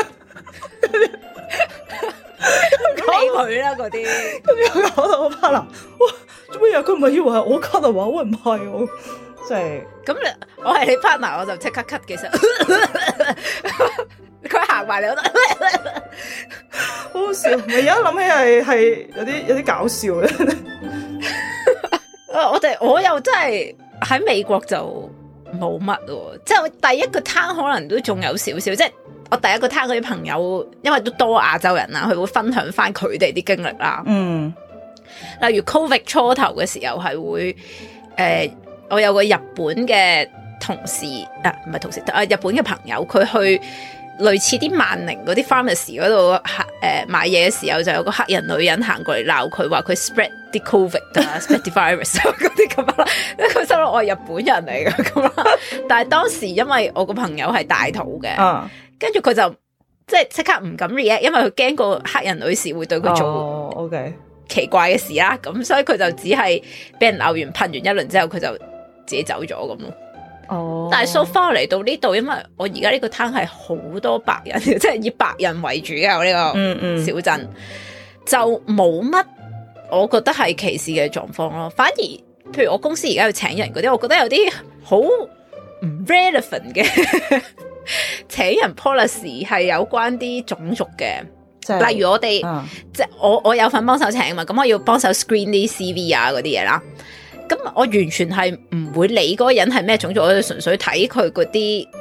理佢啦嗰啲。 跟住搞到我 partner，哇，做咩嘢？佢唔係以為係我 cut 啊？話喂唔係我，即係咁你我係你 partner，我就即刻 cut。其實佢行埋嚟，我覺得好好笑。咪而家諗起係係有啲有啲搞笑嘅。 我哋我又真係喺美國就冇乜喎，即係我第一個攤可能都仲有少少，即係我第一個攤嗰啲朋友，因為都多亞洲人啦，佢會分享翻佢哋啲經歷啦。嗯，例如 Covid 初頭嘅時候係會，誒、呃，我有個日本嘅同事啊，唔係同事啊，日本嘅朋友，佢去類似啲萬寧嗰啲 pharmacy 嗰度誒買嘢嘅時候，就有個黑人女人行過嚟鬧佢，話佢 spread 啲 covid 啊，spread 啲 virus 嗰啲咁啦。佢心諗我係日本人嚟㗎咁啦。但係當時因為我個朋友係大肚嘅，跟住佢就即係即刻唔敢 react，因為佢驚個黑人女士會對佢做 OK 奇怪嘅事啦。咁、oh, okay. 所以佢就只係俾人鬧完噴完一輪之後，佢就自己走咗咁咯。哦、oh.，但係 so far 嚟到呢度，因為我而家呢個攤係好多白人，即係以白人為主嘅我呢個小鎮，嗯嗯就冇乜我覺得係歧視嘅狀況咯。反而，譬如我公司而家要請人嗰啲，我覺得有啲好唔 relevant 嘅請人 policy 係有關啲種族嘅，就是、例如我哋、嗯、即係我我有份幫手請嘛，咁我要幫手 screen 啲 C V 啊嗰啲嘢啦。咁我完全係唔會理嗰個人係咩種族，我就純粹睇佢嗰啲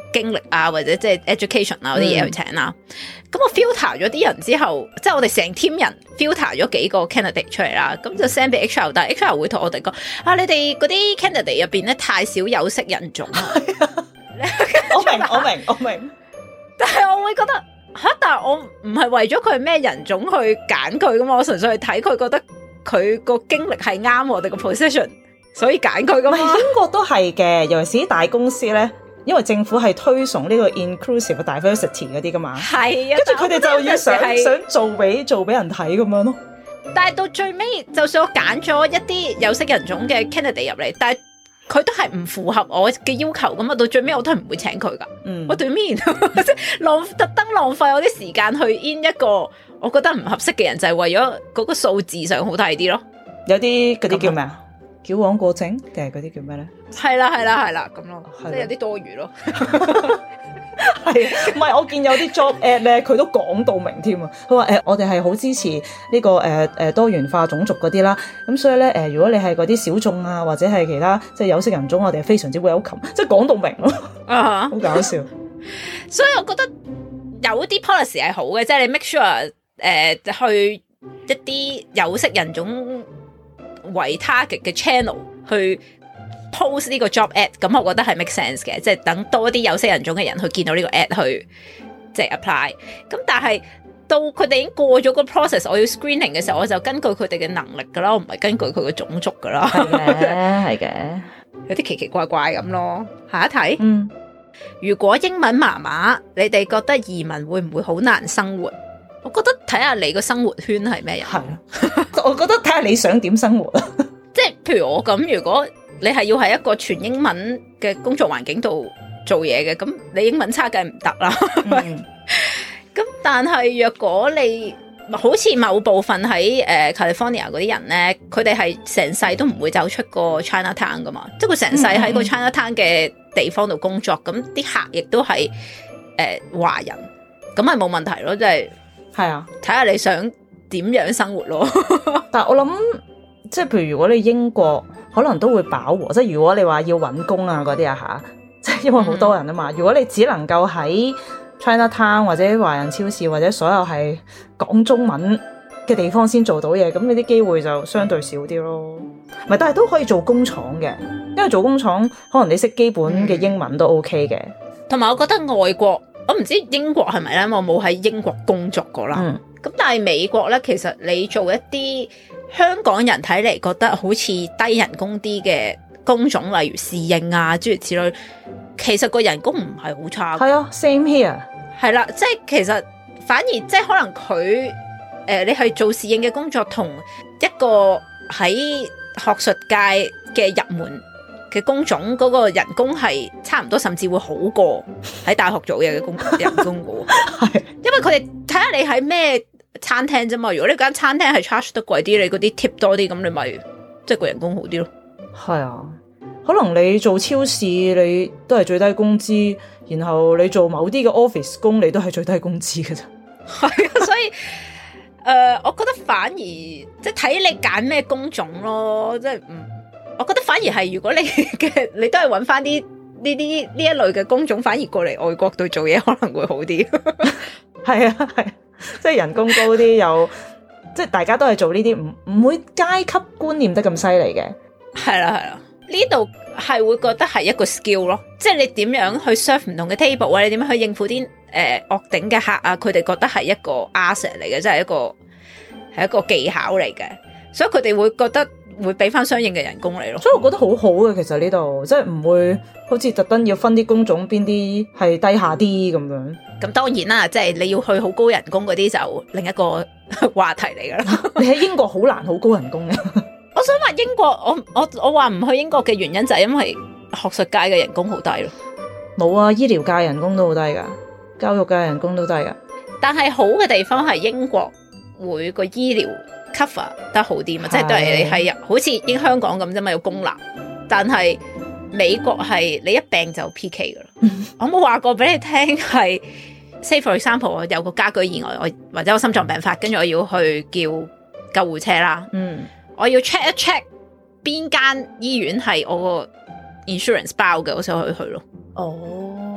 經歷啊，或者即係 education 啊嗰啲嘢去請啦。咁、嗯、我 filter 咗啲人之後，即係我哋成 team 人 filter 咗幾個 candidate 出嚟啦，咁就 send 俾 H R， 但係 H R 會同我哋講啊，你哋嗰啲 candidate 入邊咧太少有色人種啊。我明我明我明，但係我會覺得吓，但係我唔係為咗佢係咩人種去揀佢噶嘛，我純粹係睇佢覺得佢個經歷係啱我哋個 position， 所以揀佢噶嘛。 英國都係嘅，尤其是啲大公司咧，因為政府係推崇呢個 inclusive diversity 嗰啲噶嘛， 係啊， 跟住佢哋就要想想做俾做俾人睇咁樣咯。 但係到最尾，就算我揀咗一啲有色人種嘅 candidate 入嚟，但係佢都係唔符合我嘅要求咁啊！到最尾我都係唔會請佢噶。嗯，我對面即係浪特登浪費我啲時間去 in 一個我覺得唔合適嘅人，就係、是、為咗嗰個數字上好睇啲咯。有啲嗰啲叫咩啊？矯枉過正定係嗰啲叫咩咧？係啦係啦係啦咁咯，即係有啲多餘咯。係，唔係我見有啲 job ad 咧，佢都講到明添啊！佢話誒，我哋係好支持呢、這個誒誒、呃、多元化種族嗰啲啦，咁所以咧誒、呃，如果你係嗰啲小眾啊，或者係其他即係有色人種，我哋係非常之 welcome，即係講到明咯，啊，好搞笑。所以我覺得有啲 policy 係好嘅，即係你 make sure 誒、呃、去一啲有色人種為 target 嘅 channel 去post 呢個 job ad， 咁我覺得係 make sense 嘅，即係等多啲有色人種嘅人去見到呢個 ad 去即係 apply。咁但係到佢哋已經過咗個 process， 我要 screening 嘅時候，我就根據佢哋嘅能力噶啦，我唔係根據佢嘅種族噶啦。係嘅，係嘅，有啲奇奇怪怪咁咯。下一題，嗯，如果英文麻麻，你哋覺得移民會唔會好難生活？我覺得睇下你個生活圈係咩人。係啊，我覺得睇下你想點生活啊。即係譬如我咁，如果你係要喺一個全英文嘅工作環境度做嘢嘅，咁你英文差梗係唔得啦。咁、嗯、但係若果你好似某部分喺誒、呃、California 嗰啲人咧，佢哋係成世都唔會走出個 Chinatown 噶嘛，即係佢成世喺個 Chinatown 嘅地方度工作，咁啲客亦都係誒華人，咁係冇問題咯，即係係啊，睇下你想點樣生活咯。但係我諗，即係譬如如果你英國，可能都會飽和，即係如果你話要搵工啊嗰啲啊吓，即係因為好多人啊嘛。如果你只能夠喺 Chinatown 或者華人超市或者所有係講中文嘅地方先做到嘢，咁你啲機會就相對少啲咯。唔係，但係都可以做工廠嘅，因為做工廠可能你識基本嘅英文都 OK 嘅。同埋我覺得外國，我唔知英國係咪咧，我冇喺英國工作過啦。嗯，咁但係美國咧，其實你做一啲香港人睇嚟覺得好似低人工啲嘅工種，例如侍應啊諸如此類，其實個人工唔係好差。係啊 ，same here。係啦，即係其實反而即係可能佢誒、呃，你係做侍應嘅工作，同一個喺學術界嘅入門嘅工種嗰個人工係差唔多，甚至會好過喺大學做嘢嘅工人工嘅。係，因為佢哋睇下你喺咩餐廳啫嘛，如果你間餐廳係 charge 得貴啲，你嗰啲 tip 多啲，咁你咪即係個人工好啲咯。係啊，可能你做超市你都係最低工資，然後你做某啲嘅 office 工你都係最低工資嘅咋。係啊，所以誒、呃，我覺得反而即係睇你揀咩工種咯，即係唔，我覺得反而係如果你嘅你都係揾翻啲呢啲呢一類嘅工種，反而過嚟外國度做嘢可能會好啲。係啊，係。即係人工高啲，有即係大家都係做呢啲，唔唔會階級觀念得咁犀利嘅。係啦係啦，呢度係會覺得係一個 skill 咯，即係你點樣去 serve 唔同嘅 table 啊，你點樣去應付啲誒惡頂嘅客啊，佢哋覺得係一個 asset 嚟嘅，即係一個係一個技巧嚟嘅，所以佢哋會覺得會俾翻相應嘅人工嚟咯。所以我覺得好好嘅，其實呢度即係唔會好似特登要分啲工種邊啲係低下啲咁樣。咁當然啦，即係你要去好高人工嗰啲就另一個話題嚟噶啦。你喺英國好難好高人工嘅。我想話英國，我我我話唔去英國嘅原因就係因為學術界嘅人工好低咯。冇啊，醫療界人工都好低噶，教育界人工都低噶。但係好嘅地方係英國會個醫療 cover 得好啲嘛，即係都係你係好似英香港咁啫嘛，有公立，但係美國係你一病就 P K 噶啦。我冇話過俾你聽係 say for example 我有個家居意外，我或者我心臟病發，跟住我要去叫救護車啦。嗯，我要 check 一 check 邊間醫院係我個 insurance 包嘅，我先可以去咯。哦，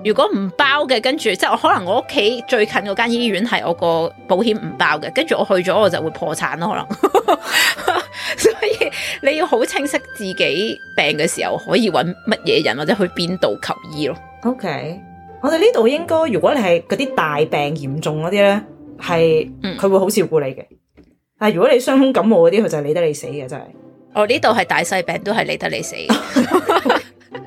如果唔包嘅，跟住即係我可能我屋企最近嗰間醫院係我個保險唔包嘅，跟住我去咗我就會破產咯，可能。所以你要好清晰自己病嘅時候可以揾乜嘢人或者去邊度求醫咯。 OK， 我哋呢度應該如果你係嗰啲大病嚴重嗰啲咧，係佢會好照顧你嘅。但係如果你傷風感冒嗰啲，佢就係理得你死嘅，真係。我呢度係大細病都係理得你死嘅。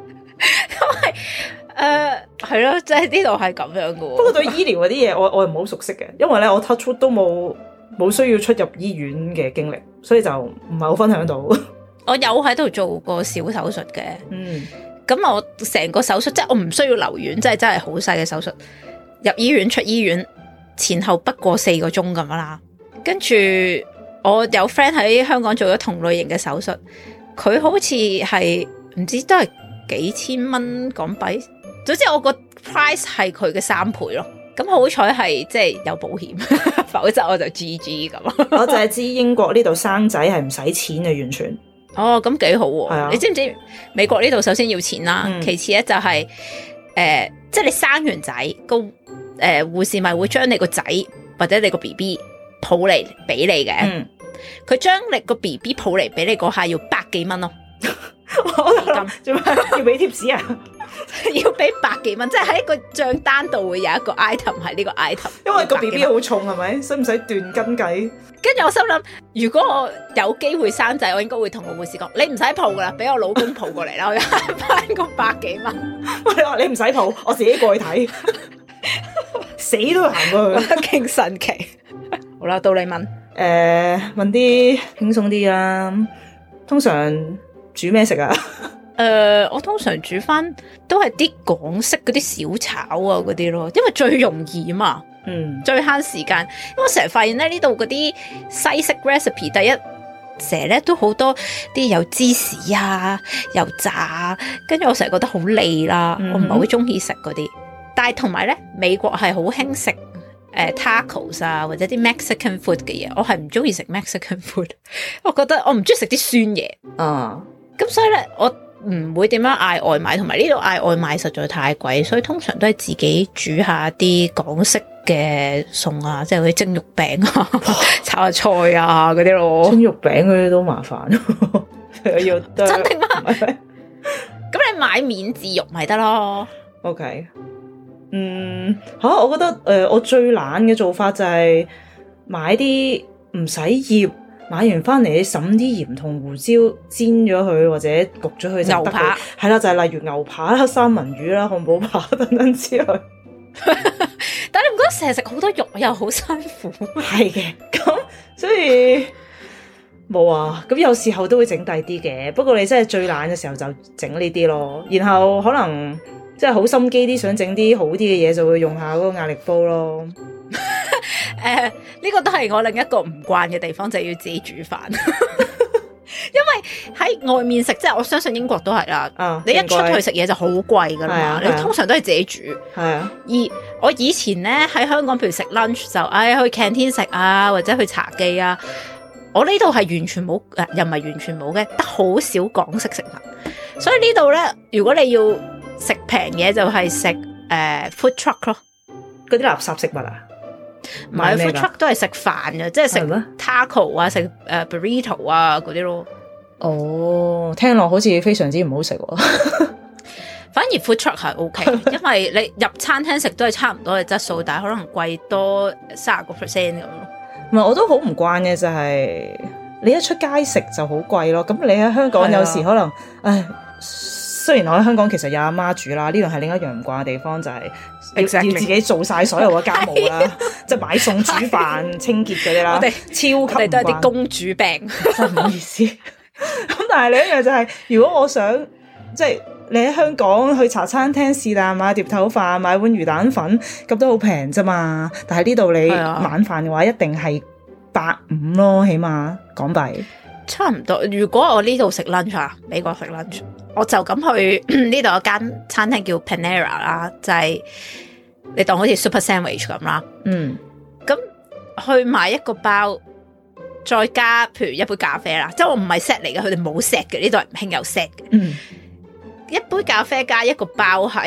誒，係咯，即係呢度係咁樣嘅。不過對醫療嗰啲嘢，我我又唔好熟悉嘅，因為咧我 touch wood 都冇冇需要出入醫院嘅經歷，所以就唔係好分享到。 我有喺度做過小手術嘅，嗯，咁我成個手術即係我唔需要留院，即係真係好細嘅手術，入醫院出醫院前後不過四個鐘咁啦。跟住我有 friend 喺香港做咗同類型嘅手術，佢好似係唔知都係幾千蚊港幣。總之我個 price 係佢嘅三倍咯，咁好彩係即係有保險，否則我就 G G 咁。 我就係知英國呢度生仔係唔使錢嘅，完全。 哦，咁幾好喎！啊、你知唔知美國呢度首先要錢啦，嗯、其次咧就係、是、誒、呃，即係你生完仔，個誒護士咪會將你個仔或者你個 B B 抱嚟俾你嘅。佢將、嗯、你個 B B 抱嚟俾你嗰下要百幾蚊咯。做咩要俾貼士啊？ 要俾百幾蚊，即係喺個賬單度會有一個 item 係呢個 item， 因為個 B B 好重係咪？使唔使斷斤計？ 跟住我心諗，如果我有機會生仔，我應該會同個護士講：你唔使抱噶啦，俾我老公抱過嚟啦，我要慳翻個百幾蚊。 你話你唔使抱，我自己過去睇，死都要行過去， 勁神奇。好啦，到你問，誒、 呃，問啲輕鬆啲啦。通常煮咩食啊？ 誒、呃，我通常煮翻都係啲港式嗰啲小炒啊嗰啲咯，因為最容易嘛，嗯，最慳時間。因為我成日發現咧呢度嗰啲西式 recipe， 第一成日咧都好多啲有芝士啊，又炸，跟住我成日覺得好膩啦，嗯、我唔係好中意食嗰啲。但係同埋咧，美國係好興食誒 tacos 啊，或者啲 Mexican food 嘅嘢，我係唔中意食 Mexican food， 我覺得我唔中意食啲酸嘢啊，咁所以咧我唔會點樣嗌外賣，同埋呢度嗌外賣實在太貴，所以通常都係自己煮下啲港式嘅餸啊，即係嗰啲蒸肉餅啊、炒下菜啊嗰啲咯。 蒸肉餅嗰啲都麻煩，要真定嗎？咁你買免治肉咪得咯。 OK， 嗯吓、啊，我覺得誒、呃，我最懶嘅做法就係買啲唔使醃。買完翻嚟，你揼啲鹽同胡椒煎咗佢，或者焗咗佢就得。牛扒係啦，就係、是、例如牛扒啦、三文魚啦、漢堡扒等等之類。 但係你唔覺得成日食好多肉又好辛苦？ 係嘅，咁所以冇啊。咁有時候都會整第啲嘅，不過你真係最懶嘅時候就整呢啲咯。然後可能即係好心機啲，想整啲好啲嘅嘢，就會用下嗰個壓力煲咯。 誒，呢、呃這個都係我另一個唔慣嘅地方，就係、是、要自己煮飯。因為喺外面食，即係我相信英國都係啦。啊、你一出去食嘢就好貴噶啦嘛，啊、你通常都係自己煮。係啊。而我以前咧喺香港，譬如食 lunch 就，唉、哎、去 canteen 食啊，或者去茶記啊。我呢度係完全冇，誒又唔係完全冇嘅，得好少港式食物。所以呢度咧，如果你要食平嘢，就係食誒 food truck 咯， 嗰啲垃圾食物啊。 唔係 food truck 都係食飯嘅，即係食 taco 啊，食誒、uh, burrito 啊嗰啲咯。 哦，聽落好似非常之唔好食喎。 反而 food truck 係 OK，因為你入餐廳食都係差唔多嘅質素，但係可能貴多三十個 percent 咁咯。 唔係，我都好唔慣嘅就係、是、你一出街食就好貴咯。咁你喺香港有時可能，唉。雖然我喺香港其實有阿媽煮啦，呢度係另一樣唔慣嘅地方，就係、是、Exactly. 要自己做晒所有嘅家務啦，即係買餸、煮飯、清潔嗰啲啦。我哋超級唔慣，我哋都係啲公主病，真係唔好意思。咁但係另一樣就係、是，如果我想即係、就是、你喺香港去茶餐廳是但買碟頭飯、買碗魚蛋粉，咁都好平啫嘛。但係呢度你晚飯嘅話，一定係百五咯，起碼港幣。 差唔多。如果我呢度食 lunch 啊，美國食 lunch。我就咁去呢度有間餐廳叫 Panera 啦，就係、是、你當好似 Super Sandwich 咁啦。嗯，咁去買一個包，再加譬如一杯咖啡啦，即係我唔係 set 嚟嘅，佢哋冇 set 嘅，呢度係唔興有 set 嘅。嗯，一杯咖啡加一個包係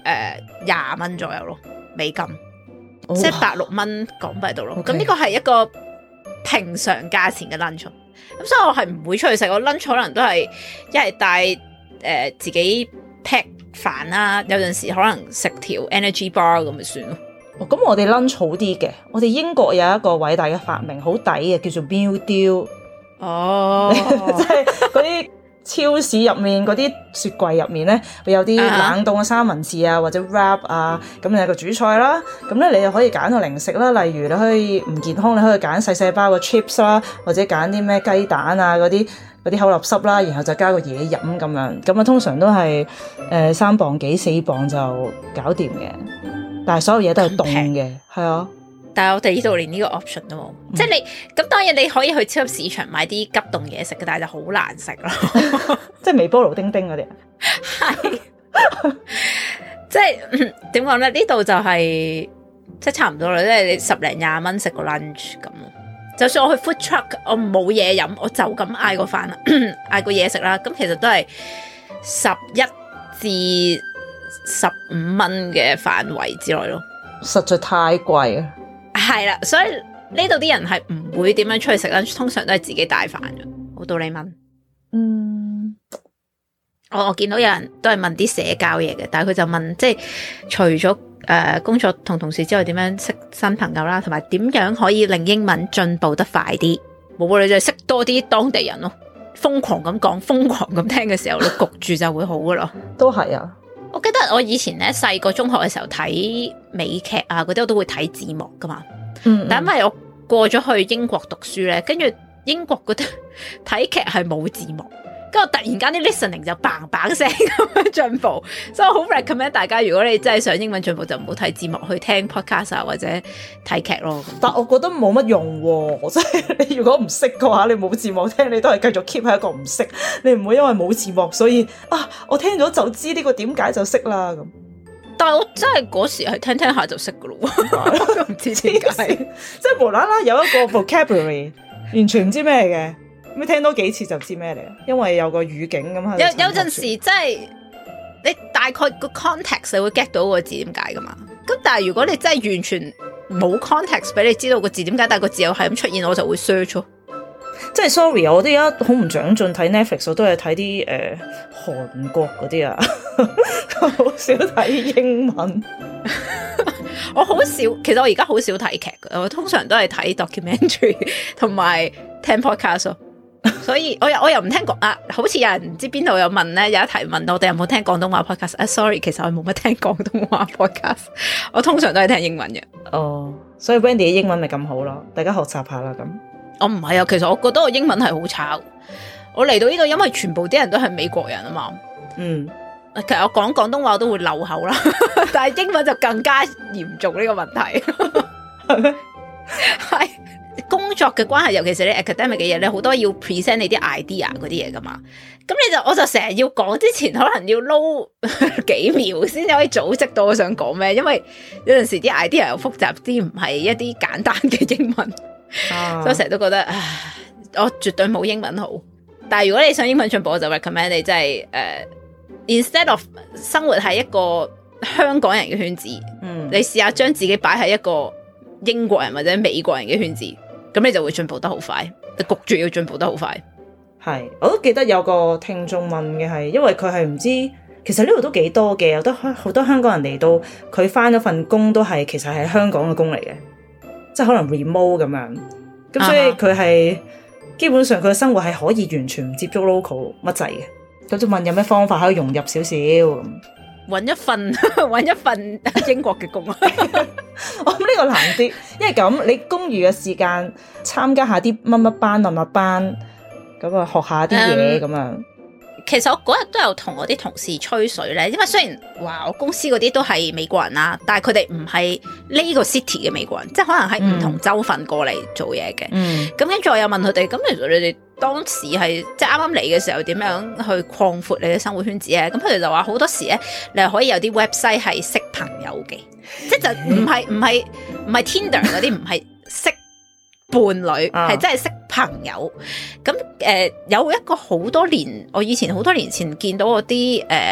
廿蚊左右咯，美金， 哦、 即係百六蚊港幣度咯。咁呢個係一個平常價錢嘅 lunch，咁所以我係唔會出去食。我 lunch 可能都係一係帶誒、呃、自己 pack 飯啦，有陣時可能食條 energy bar 咁咪算咯。 哦，咁我哋 lunch 好啲嘅，我哋英國有一個偉大嘅發明，好抵嘅，叫做 meal deal。 哦， 即係嗰啲超市入面嗰啲雪櫃入面咧，會有啲冷凍嘅三文治啊，或者 wrap 啊，咁你有個主菜啦，咁咧你又可以揀個零食啦，例如你可以唔健康，你可以揀細細包嘅 chips 啦，或者揀啲咩雞蛋啊嗰啲嗰啲口立濕啦，然後就加個嘢飲咁樣，咁啊通常都係誒三磅幾四磅就搞掂嘅，但係所有嘢都係凍嘅，係啊。 但係我哋呢度連呢個 option 都冇，嗯、即係你咁當然你可以去超級市場買啲急凍嘢食嘅，但係就好難食咯。 即係微波爐叮叮嗰啲， 係即係點講咧？呢度就係、是、即係差唔多啦，即係你十零廿蚊食個 lunch 咁。就算我去 food truck，我冇嘢飲，我就咁嗌個飯啦，嗌個嘢食啦。咁其實都係十一至十五蚊嘅範圍之內咯。實在太貴啊！ 係啦，所以呢度啲人係唔會點樣出去食啦，通常都係自己帶飯嘅。好道理問，嗯，我我見到有人都係問啲社交嘢嘅，但係佢就問，即係除咗誒、呃、工作同同事之外，點樣識新朋友啦，同埋點樣可以令英文進步得快啲？冇，你就係識多啲當地人咯，瘋狂咁講，瘋狂咁聽嘅時候，你焗住就會好噶啦。 都係啊！ 我記得我以前咧細個中學嘅時候睇美劇啊嗰啲，我都會睇字幕噶嘛。嗯，嗯，但因為我過咗去英國讀書咧，跟住英國嗰啲睇劇係冇字幕，跟住我突然間啲 listening 就嘭嘭聲咁樣進步，所以我好 recommend 大家，如果你真係想英文進步，就唔好睇字幕，去聽 podcast 啊或者睇劇咯。 但我覺得冇乜用喎，即係你如果唔識嘅話，你冇字幕聽，你都係繼續 keep 喺一個唔識，你唔會因為冇字幕所以啊，我聽咗就知呢個點解就識啦咁。 但係我真係嗰時係聽聽下就識噶咯，唔知點解， 即係無啦啦有一個 vocabulary 完全唔知咩嘅，咁聽多幾次就知咩嚟啦，因為有個語境咁樣。有有陣時即係你大概個 context 你會 get 到個字點解噶嘛，咁但係如果你真係完全冇 context 俾你知道個字點解，但係個字又係咁出現，我就會 search 咯。 即係 sorry，我哋而家好唔長進睇 Netflix，我都係睇啲誒韓國嗰啲啊，好少睇英文。 我好少，其實我而家好少睇劇嘅，我通常都係睇 documentary 同埋聽 podcast 咯。所以我又我又唔聽廣啊，好似有人唔知邊度有問咧，有一題問我哋有冇聽廣東話 podcast 啊 ？Sorry，其實我冇乜聽廣東話 podcast，我通常都係聽英文嘅。哦， 所以 Wendy 嘅英文咪咁好咯，大家學習下啦咁。 我唔係啊，其實我覺得我英文係好差。我嚟到呢度，因為全部啲人都係美國人啊嘛。嗯，其實我講廣東話都會漏口啦，但係英文就更加嚴重呢個問題。係咩？係工作嘅關係，尤其是你 academic 嘅嘢咧，好多要 present 你啲 idea 嗰啲嘢噶嘛。咁你就我就成日要講之前，可能要撈幾秒先至可以組織到我想講咩，因為有陣時啲 idea 又複雜啲，唔係一啲簡單嘅英文。啊、所以我成日都覺得，唉，我絕對冇英文好。但係如果你想英文進步，我就 recommend 你真係誒、uh, ，instead of 生活喺一個香港人嘅圈子，嗯，你試下將自己擺喺一個英國人或者美國人嘅圈子，咁你就會進步得好快。你焗住要進步得好快。 係，我都記得有個聽眾問嘅係，因為佢係唔知，其實呢度都幾多嘅，有得好多香港人嚟到，佢返咗份工都係其實係香港嘅工嚟嘅。即係可能 remote 咁樣，咁所以佢係、uh huh. 基本上佢嘅生活係可以完全唔接觸 local 乜滯嘅。咁就問有咩方法可以融入少少咁，揾一份揾一份英國嘅工啊！ 我諗呢個難啲，因為咁你公餘嘅時間參加下啲乜乜班乜乜班，咁啊學下啲嘢咁樣。Um, 其實我嗰日都有同我啲同事吹水咧，因為雖然話我公司嗰啲都係美國人啦，但係佢哋唔係呢個 city 嘅美國人，即係可能喺唔同州份過嚟做嘢嘅。咁跟住我又問佢哋，咁其實你哋當時係即係啱啱嚟嘅時候，點樣去擴闊你嘅生活圈子咧？咁佢哋就話好多時咧，你係可以有啲 website 係識朋友嘅，即係就唔係唔係唔係 Tinder 嗰啲，唔係識伴侶，係真係識朋友。咁誒、呃、有一個好多年，我以前好多年前見到嗰啲誒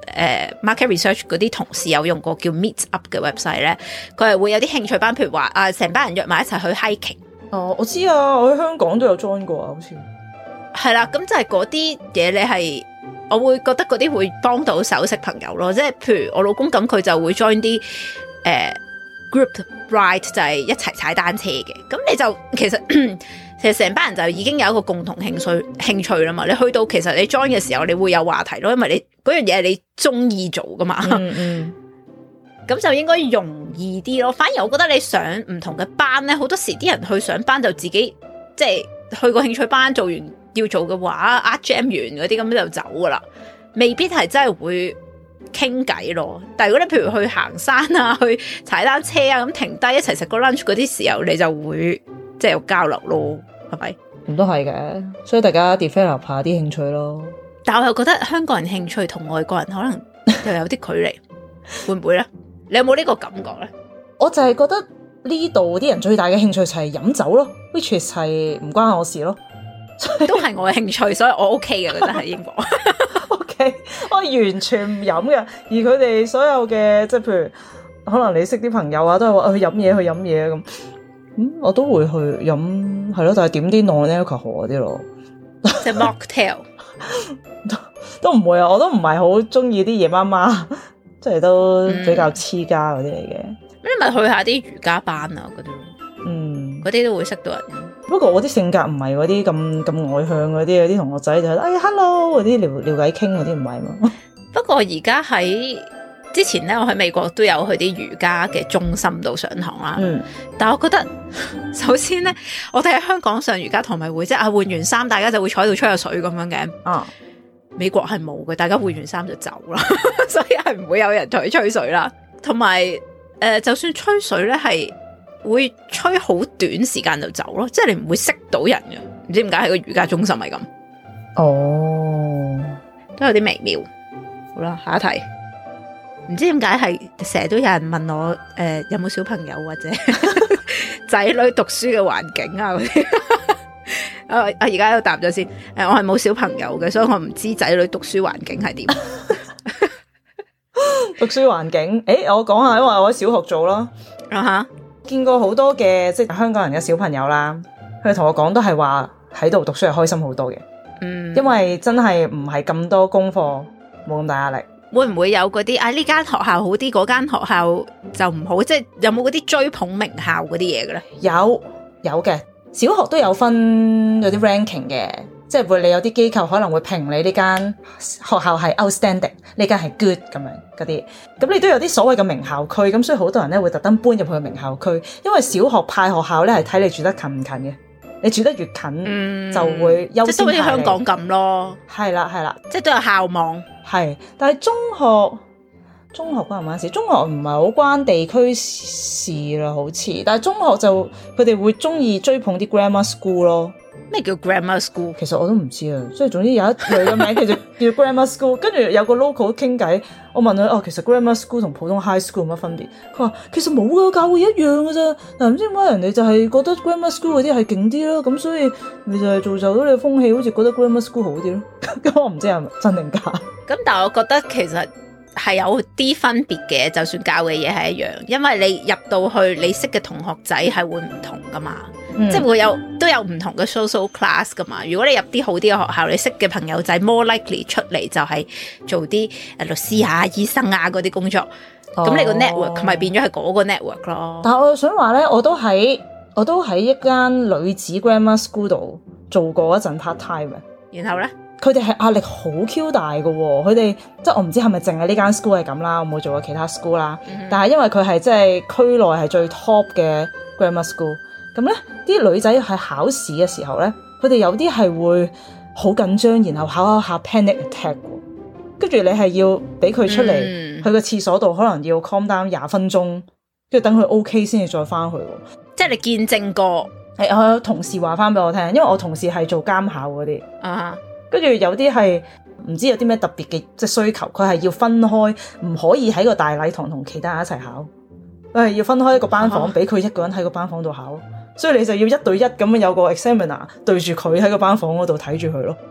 誒 market research 嗰啲同事有用過叫 Meet Up 嘅 website 咧，佢係會有啲興趣班，譬如話啊，成班人約埋一齊去 hiking。 哦，我知啊，我喺香港都有 join 過啊，好似係啦，咁就係嗰啲嘢，你係我會覺得嗰啲會幫到手識朋友咯，即係譬如我老公咁，佢就會 join 啲誒、呃、group ride，就係一齊踩單車嘅，咁你就其實其實成班人就已經有一個共同興趣興趣啦嘛，你去到其實你 join 嘅時候，你會有話題咯，因為你嗰樣嘢係你中意做噶嘛，嗯嗯，咁就應該容易啲咯。反而我覺得你上唔同嘅班咧，好多時啲人去上班就自己即係去個興趣班做完要做嘅話，art jam 完嗰啲咁就走噶啦，未必係真係會傾偈咯。但係如果你譬如去行山啊，去踩單車啊，咁停低一齊食個 lunch 嗰啲時候，你就會即係有交流咯，係咪？咁都係嘅，所以大家 develop 下啲興趣咯。 但我又覺得香港人興趣同外國人可能又有啲距離，會唔會咧？你有冇呢個感覺咧？ 我就係覺得呢度啲人最大嘅興趣就係飲酒咯，which is 係唔關我事咯。 都係我嘅興趣，所以我 OK 嘅，覺得喺英國。 OK，我完全唔飲嘅，而佢哋所有嘅即係譬如可能你識啲朋友啊，都係話去飲嘢去飲嘢咁，咁我都會去飲係咯，但係點啲 non-alcohol 嗰啲咯， 即係 mocktail 都唔會啊，我都唔係好中意啲夜媽媽，即係都比較黐家嗰啲嚟嘅。 咁你咪去下啲瑜伽班啊嗰啲，嗯，嗰啲都會識到人。 不過我啲性格唔係嗰啲咁咁外向嗰啲，有啲同學仔就係哎 hello 嗰啲聊聊偈傾嗰啲唔係嘛。 不過而家喺之前咧，我喺美國都有去啲瑜伽嘅中心度上堂啦。嗯，但係我覺得首先咧，我哋喺香港上瑜伽堂咪會即係啊換完衫，大家就會坐喺度吹下水咁樣嘅。啊，美國係冇嘅，大家換完衫就走啦，所以係唔會有人同佢吹水啦。同埋誒，就算吹水咧係。會吹好短時間就走咯，即係你唔會識到人嘅，唔知點解喺個瑜伽中心係咁。哦，都有啲微妙。好啦，下一題，唔知點解係成日都有人問我誒、呃、有冇小朋友或者仔女讀書嘅環境啊嗰啲。啊啊而家都答咗先，誒我係冇小朋友嘅，所以我唔知仔女讀書環境係點。 讀書環境，誒我講下，因為我喺小學做咯。啊哈。見過好多嘅即係香港人嘅小朋友啦，佢哋同我講都係話喺度讀書係開心好多嘅，嗯，因為真係唔係咁多功課，冇咁大壓力。 會唔會有嗰啲啊呢間學校好啲，嗰間學校就唔好？即係有冇嗰啲追捧名校嗰啲嘢嘅咧？ 有有嘅，小學都有分有啲 ranking 嘅。即係會你有啲機構可能會評你呢間學校係 outstanding， 呢間係 good 咁樣嗰啲，咁你都有啲所謂嘅名校區，咁所以好多人咧會特登搬入去名校區，因為小學派學校咧係睇你住得近唔近嘅，你住得越近、嗯、就會優先派你。即係都好似香港咁咯，係啦係啦， 即係都有校網。係， 但係中學中學關唔關事？中學唔係好關地區事啦，好似，但係中學就佢哋會中意追捧啲 grammar school 咯。 咩叫 grammar school？ 其實我都唔知啊，所以總之有一類嘅名叫做叫 grammar school， 跟住有個 local 傾偈，我問佢哦，其實 grammar school 同普通 high school 有乜分別？佢話其實冇噶，教會一樣噶咋。嗱，唔知點解人哋就係覺得 grammar school 嗰啲係勁啲咯，咁所以你就係造就到你嘅風氣，好似覺得 grammar school 好啲咯。咁我唔知係咪真定假。咁但係我覺得其實係有啲分別嘅，就算教嘅嘢係一樣，因為你入到去你識嘅同學仔係會唔同噶嘛。嗯、即係會有都有唔同嘅 social class 噶嘛。如果你入啲好啲嘅學校，你識嘅朋友仔 more likely 出嚟就係做啲誒律師啊、醫生啊嗰啲工作。咁、哦、你個 network 咪變咗係嗰個 network 咯。 但係我想話咧，我都喺我都喺一間女子 grammar school 度做過一陣 part time 嘅。 然後咧， 佢哋係壓力好 Q 大嘅喎。佢哋即係我唔知係咪淨係呢間 school 係咁啦，我冇做過其他 school 啦。嗯、但係因為佢係即係區內係最 top 嘅 grammar school。咁咧，啲女仔喺考試嘅時候咧，佢哋有啲係會好緊張，然後考考下 panic attack，跟住你係要俾佢出嚟、嗯、去個廁所度，可能要 calm down 廿分鐘，跟住等佢 OK 先至再翻去。 即係你見證過？ 係我有同事話翻俾我聽，因為我同事係做監考嗰啲，啊，跟住有啲係唔知有啲咩特別嘅即係需求，佢係要分開，唔可以喺個大禮堂同其他人一齊考，佢係要分開一個班房，俾佢、啊、一個人喺個班房度考。所以你就要一對一咁樣有個 examiner 對住佢喺個班房嗰度睇住佢咯。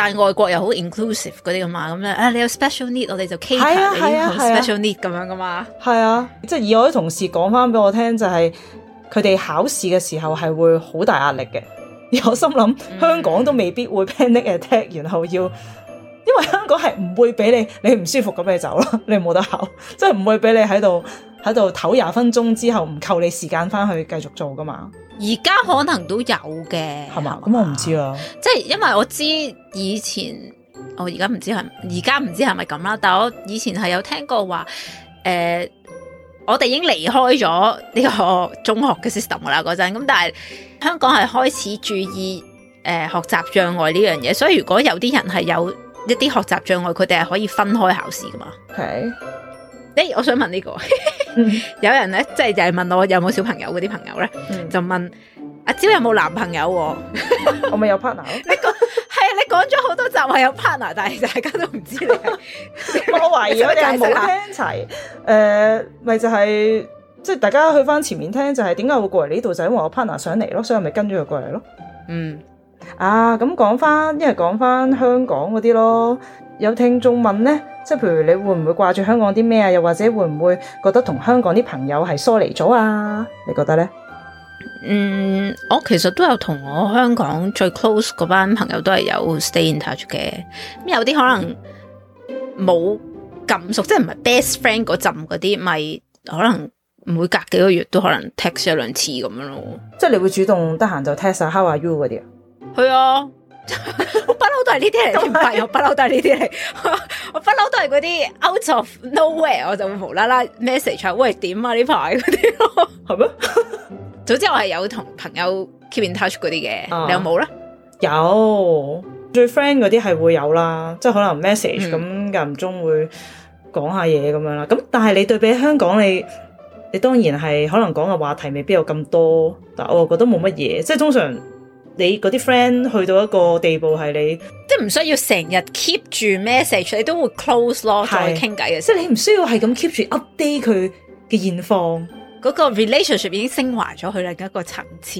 但外國又好 inclusive 嗰啲噶嘛，咁咧啊你有 special need 我哋就 cater 你啲 special need 咁樣噶嘛。 係啊，即係以我啲同事講翻俾我聽，就係佢哋考試嘅時候係會好大壓力嘅。而我心諗、嗯、香港都未必會 panic attack，然後要，因為香港係唔會俾你你唔舒服咁你走咯，你冇得考，即係唔會俾你喺度喺度唞廿分鐘之後唔扣你時間翻去繼續做噶嘛。 而家可能都有嘅， 係嘛？咁我唔知啊。 即係因為我知以前，我而家唔知係而家唔知係咪咁啦。但係我以前係有聽過話，誒、呃，我哋已經離開咗呢個中學嘅 system 啦嗰陣。咁但係香港係開始注意誒、呃、學習障礙呢樣嘢，所以如果有啲人係有一啲學習障礙，佢哋係可以分開考試噶嘛。 係。 誒，我想問呢、這個，有人咧，即係就係問我有冇小朋友嗰啲朋友咧，嗯、就問阿蕉有冇男朋友、啊？ 我咪有 partner 咯。 你講係啊，你講咗好多集話有 partner，但係大家都唔知你係。 我懷疑我哋冇聽齊。誒、呃，咪就係、是、即係大家去翻前面聽，就係點解會過嚟呢度？就係、因為我 partner 上嚟咯，所以我咪跟咗佢過嚟咯。嗯。啊，咁講翻，一係講翻香港嗰啲咯。有聽眾問咧，即係譬如你會唔會掛住香港啲咩啊？又或者會唔會覺得同香港啲朋友係疏離咗啊？你覺得咧？ 嗯，我其實都有同我香港最 close 嗰班朋友都係有 stay in touch 嘅。咁有啲可能冇咁熟，即係唔係 best friend 嗰陣嗰啲，咪可能每隔幾個月都可能 text 一兩次咁樣咯。即係你會主動得閒就 text 下 How are you 嗰啲啊？ 係啊。我不嬲都係呢啲嚟，唔係我不嬲都係呢啲嚟，我不嬲都係嗰啲 out of nowhere，我就會無啦啦 message 喂點啊呢排嗰啲咯，係咩？總之我係有同朋友 keep in touch 嗰啲嘅，啊、你有冇咧？ 有最 friend 嗰啲係會有啦，即係可能 message 咁間唔中會講下嘢咁樣啦。咁但係你對比香港，你你當然係可能講嘅話題未必有咁多，但我又覺得冇乜嘢，即係通常。你嗰啲 friend 去到一個地步係你， 即係唔需要成日 keep 住 message，你都會 close 咯，再傾偈嘅。 即係你唔需要係咁 keep 住 update 佢嘅現況， 嗰個 relationship 已經升華咗去另一個層次。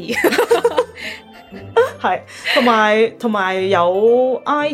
係，同埋同埋有 I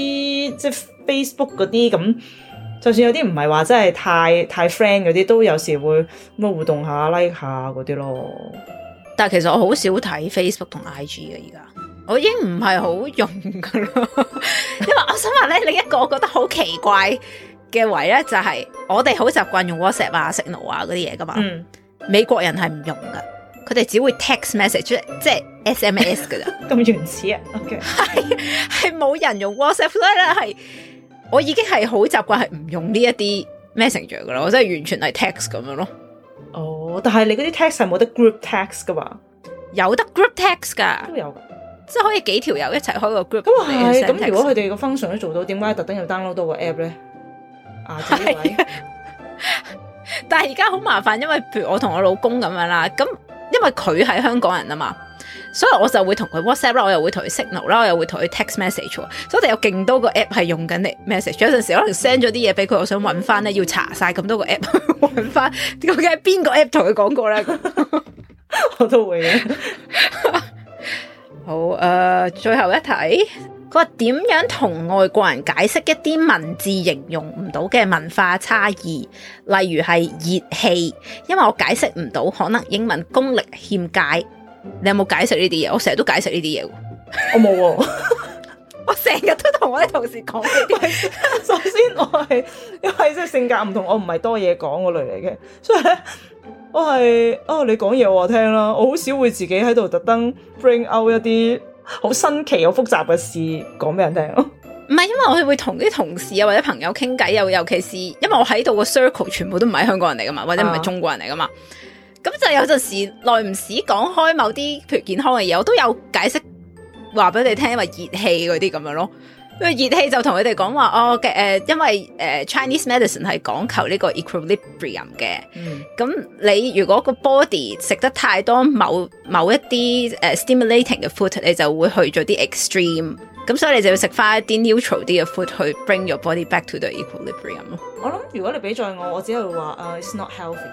G 即係 Facebook 嗰啲咁，就算有啲唔係話真係太太 friend 嗰啲，都有時會咁互動下 like 下嗰啲咯。 但係其實我好少睇 Facebook 同 I G 嘅，而家我已經唔係好用噶啦。因為我想話咧，另一個我覺得好奇怪嘅位咧，就係我哋好習慣用 WhatsApp 啊、Signal 啊嗰啲嘢噶嘛。嗯、美國人係唔用噶，佢哋只會 text message，即係 S M S 噶咋。 咁原始啊 ？OK， 係係冇人用 WhatsApp，所以咧係我已經係好習慣係唔用呢一啲 Messenger 噶啦，我真係完全係 text 咁樣咯。 哦，但係你嗰啲 text 係冇得 group text 噶嘛？ 有得 group text 噶， 都有， 即係可以幾條友一齊開個 group。 咁啊係，咁如果佢哋個 function 都做到，點解特登要 download 多個 app 咧？啊，呢位， 但係而家好麻煩，因為譬如我同我老公咁樣啦，咁因為佢係香港人啊嘛，所以我就會同佢 WhatsApp 啦，我又會同佢 Signal 啦，我又會同佢 text message，所以我哋有勁多個 app 係用緊你 message。有陣時可能 send 咗啲嘢俾佢，我想揾翻咧，要查晒咁多個 app 揾翻，究竟係邊個 app 同佢講過咧？ 我都會嘅。 好，誒、呃，最後一題，佢話點樣同外國人解釋一啲文字形容唔到嘅文化差異，例如係熱氣，因為我解釋唔到，可能英文功力欠佳。你有冇解釋呢啲嘢？我成日都解釋呢啲嘢。 我冇喎， 我成日都同我啲同事講呢啲。 首先我係因為即係性格唔同，我唔係多嘢講嗰類嚟嘅，所以咧我係哦你講嘢我話聽啦，我好少會自己喺度特登 bring out 一啲好新奇、好複雜嘅事講俾人聽咯。 唔係，因為我會同啲同事啊或者朋友傾偈，又尤其是因為我喺度個 circle 全部都唔係香港人嚟噶嘛，或者唔係中國人嚟噶嘛。咁就有陣時耐唔時講開某啲譬如健康嘅嘢，我都有解釋話俾你聽，因為熱氣嗰啲咁樣咯。因為熱氣就同佢哋講話哦嘅誒、呃，因為誒、呃、Chinese medicine 係講求呢個 equilibrium 嘅。咁、嗯、你如果個 body 食得太多某某一啲誒、uh, stimulating 嘅 food，你就會去咗啲 extreme。咁所以你就要食翻一啲 neutral 啲嘅 food 去 bring your body back to the equilibrium 咯。 我諗如果你俾在我，我只係會話誒、uh, it's not healthy。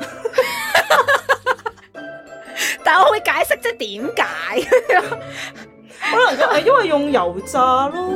但係我會解釋即係點解？ 可能就係因為用油炸咯，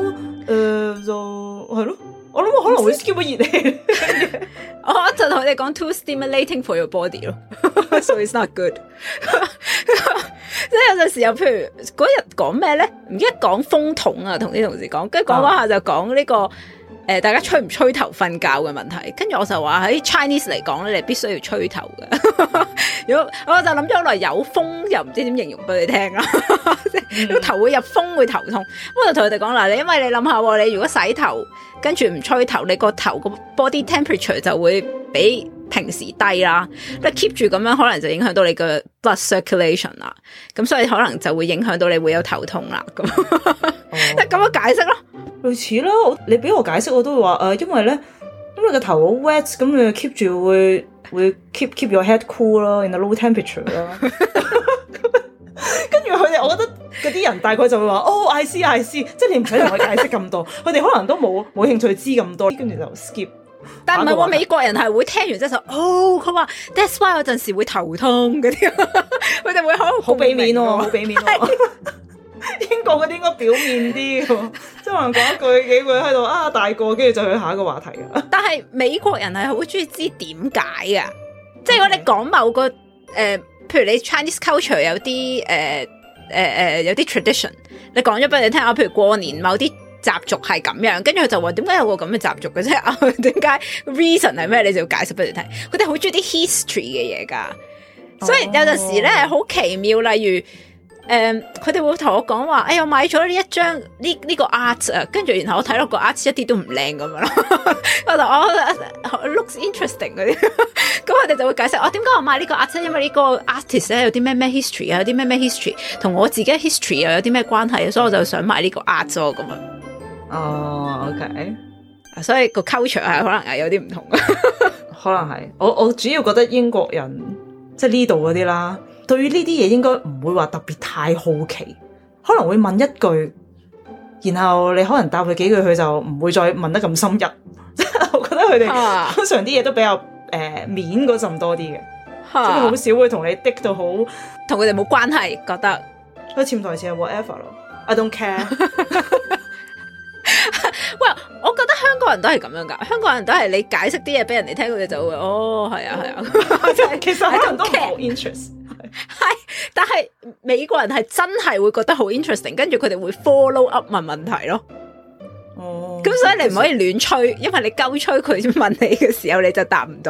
誒就係咯，我諗我可能會 skip 咗熱氣。 我就同佢哋講 too stimulating for your body 咯，so it's not good。即係有陣時候，譬如嗰日講咩咧？唔記得講風筒啊，同啲同事講，跟住講嗰下就講呢、這個誒、呃，大家吹唔吹頭瞓覺嘅問題。跟住我就話喺 Chinese 嚟講咧，你必須要吹頭嘅。如果我就諗咗好耐，有風又唔知點形容俾你聽啦。即係頭會入風會頭痛。我就同佢哋講啦，你因為你諗下，你如果洗頭跟住唔吹頭，你個頭個 body temperature 就會比平時低啦。你 keep 住咁樣，可能就影響到你嘅 blood circulation 啦。咁所以可能就會影響到你會有頭痛啦。咁即係咁樣解釋咯， 類似啦。你俾我解釋，我都會話誒、呃，因為咧，因為個頭好 wet，咁你 keep 住會會 keep keep your head cool 咯，in a low temperature 啦。跟住佢哋，我覺得嗰啲人大概就會話，哦 ，I see I see，即係你唔使同佢解釋咁多，佢哋可能都冇冇興趣知咁多，跟住就 skip。 但唔係喎，美國人係會聽完之後就，哦，佢話 that's why 有陣時會頭痛嗰啲，佢哋會好好俾面喎，好俾面喎。英國嗰啲應該表面啲喎，即係可能講一句幾句喺度啊大個，跟住就去下一個話題啊。 但係美國人係好中意知點解啊，即係如果你講某個誒。呃譬如你 Chinese culture 有啲誒誒誒有啲 tradition， 你講咗俾你聽啊，譬如過年某啲習俗係咁樣，跟住佢就話點解有個咁嘅習俗嘅啫？啊，點解 reason 係咩？你就要解釋俾你聽。佢哋好中意啲 history 嘅嘢噶，所以有陣時咧好奇妙，例如。誒，佢哋、um, 會同我講話，哎呀，我買咗呢一張呢呢、呢個 art 啊，跟住然後我睇落個 art 一啲都唔靚咁樣咯，我就我 looks interesting 嗰啲，咁佢哋就會解釋，我點解我買呢個 art 因為呢個 artist 咧有啲咩咩 history 啊，有啲咩咩 history， 同我自己 history 又有啲咩關係，所以我就想買呢個 art 咯咁樣。 哦、oh,，OK， 所以個 culture 係可能係有啲唔同嘅， 可能係，我我主要覺得英國人即係呢度嗰啲啦。對於呢啲嘢應該唔會話特別太好奇，可能會問一句，然後你可能答佢幾句，佢就唔會再問得咁深入。我覺得佢哋通常啲嘢都比較誒、呃、面嗰陣多啲嘅，即係好少會同你滴到好， 同佢哋冇關係，覺得佢潛台詞係 whatever 咯 ，I don't care。 喂，我覺得香港人都係咁樣噶，香港人都係你解釋啲嘢俾人哋聽，佢哋就會哦，係啊係啊， 其實可能都唔好 interest。 係，但係美國人係真係會覺得好 interesting， 跟住佢哋會 follow up 問問題咯。哦，咁所以你唔可以亂吹，因為你鳩吹佢問你嘅時候，你就答唔到。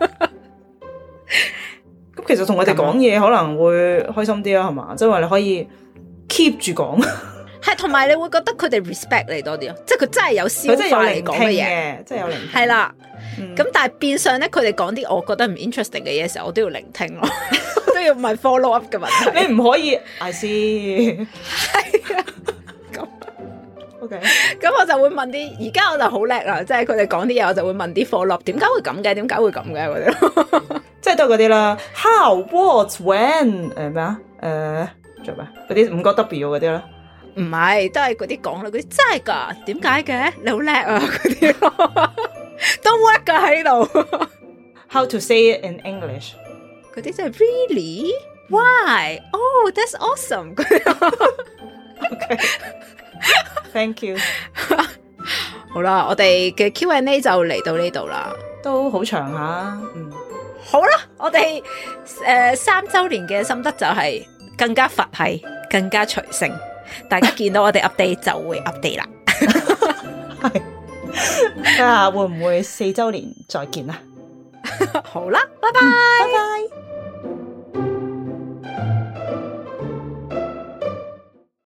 咁其實同我哋講嘢可能會開心啲啊，係嘛？即係話你可以 keep 住講， 係同埋你會覺得佢哋 respect 你多啲咯，即係佢真係有消化你講嘅嘢， 即係有聆聽， 係啦。咁、嗯、但係變相咧，佢哋講啲我覺得唔 interesting 嘅嘢嘅時候，我都要聆聽咯，都要問 follow up 嘅問題。 你唔可以 I see 係啊，咁 OK，咁我就會問啲，而家我就好叻啦，即係佢哋講啲嘢，我就會問啲 follow up，點解會咁嘅？點解會咁嘅？嗰啲即係都係嗰啲啦 ，how what when 誒咩啊？誒做咩？嗰啲五個 W 嗰啲啦， 唔係都係嗰啲講啦，嗰啲真係噶，點解嘅？你好叻啊，嗰啲咯。都 work 噶喺度。 How to say it in English？ 嗰啲真係 really why？ Oh, that's awesome！ OK， Thank you。 好啦，我哋嘅 Q and A 就嚟到呢度啦， 都好長下。嗯， 好啦，我哋誒、呃、三周年嘅心得就係更加佛系，更加隨性。大家見到我哋 update 就會 update 啦。 係。睇下會唔會四周年再見啊？ 好啦，拜拜， 嗯，拜拜。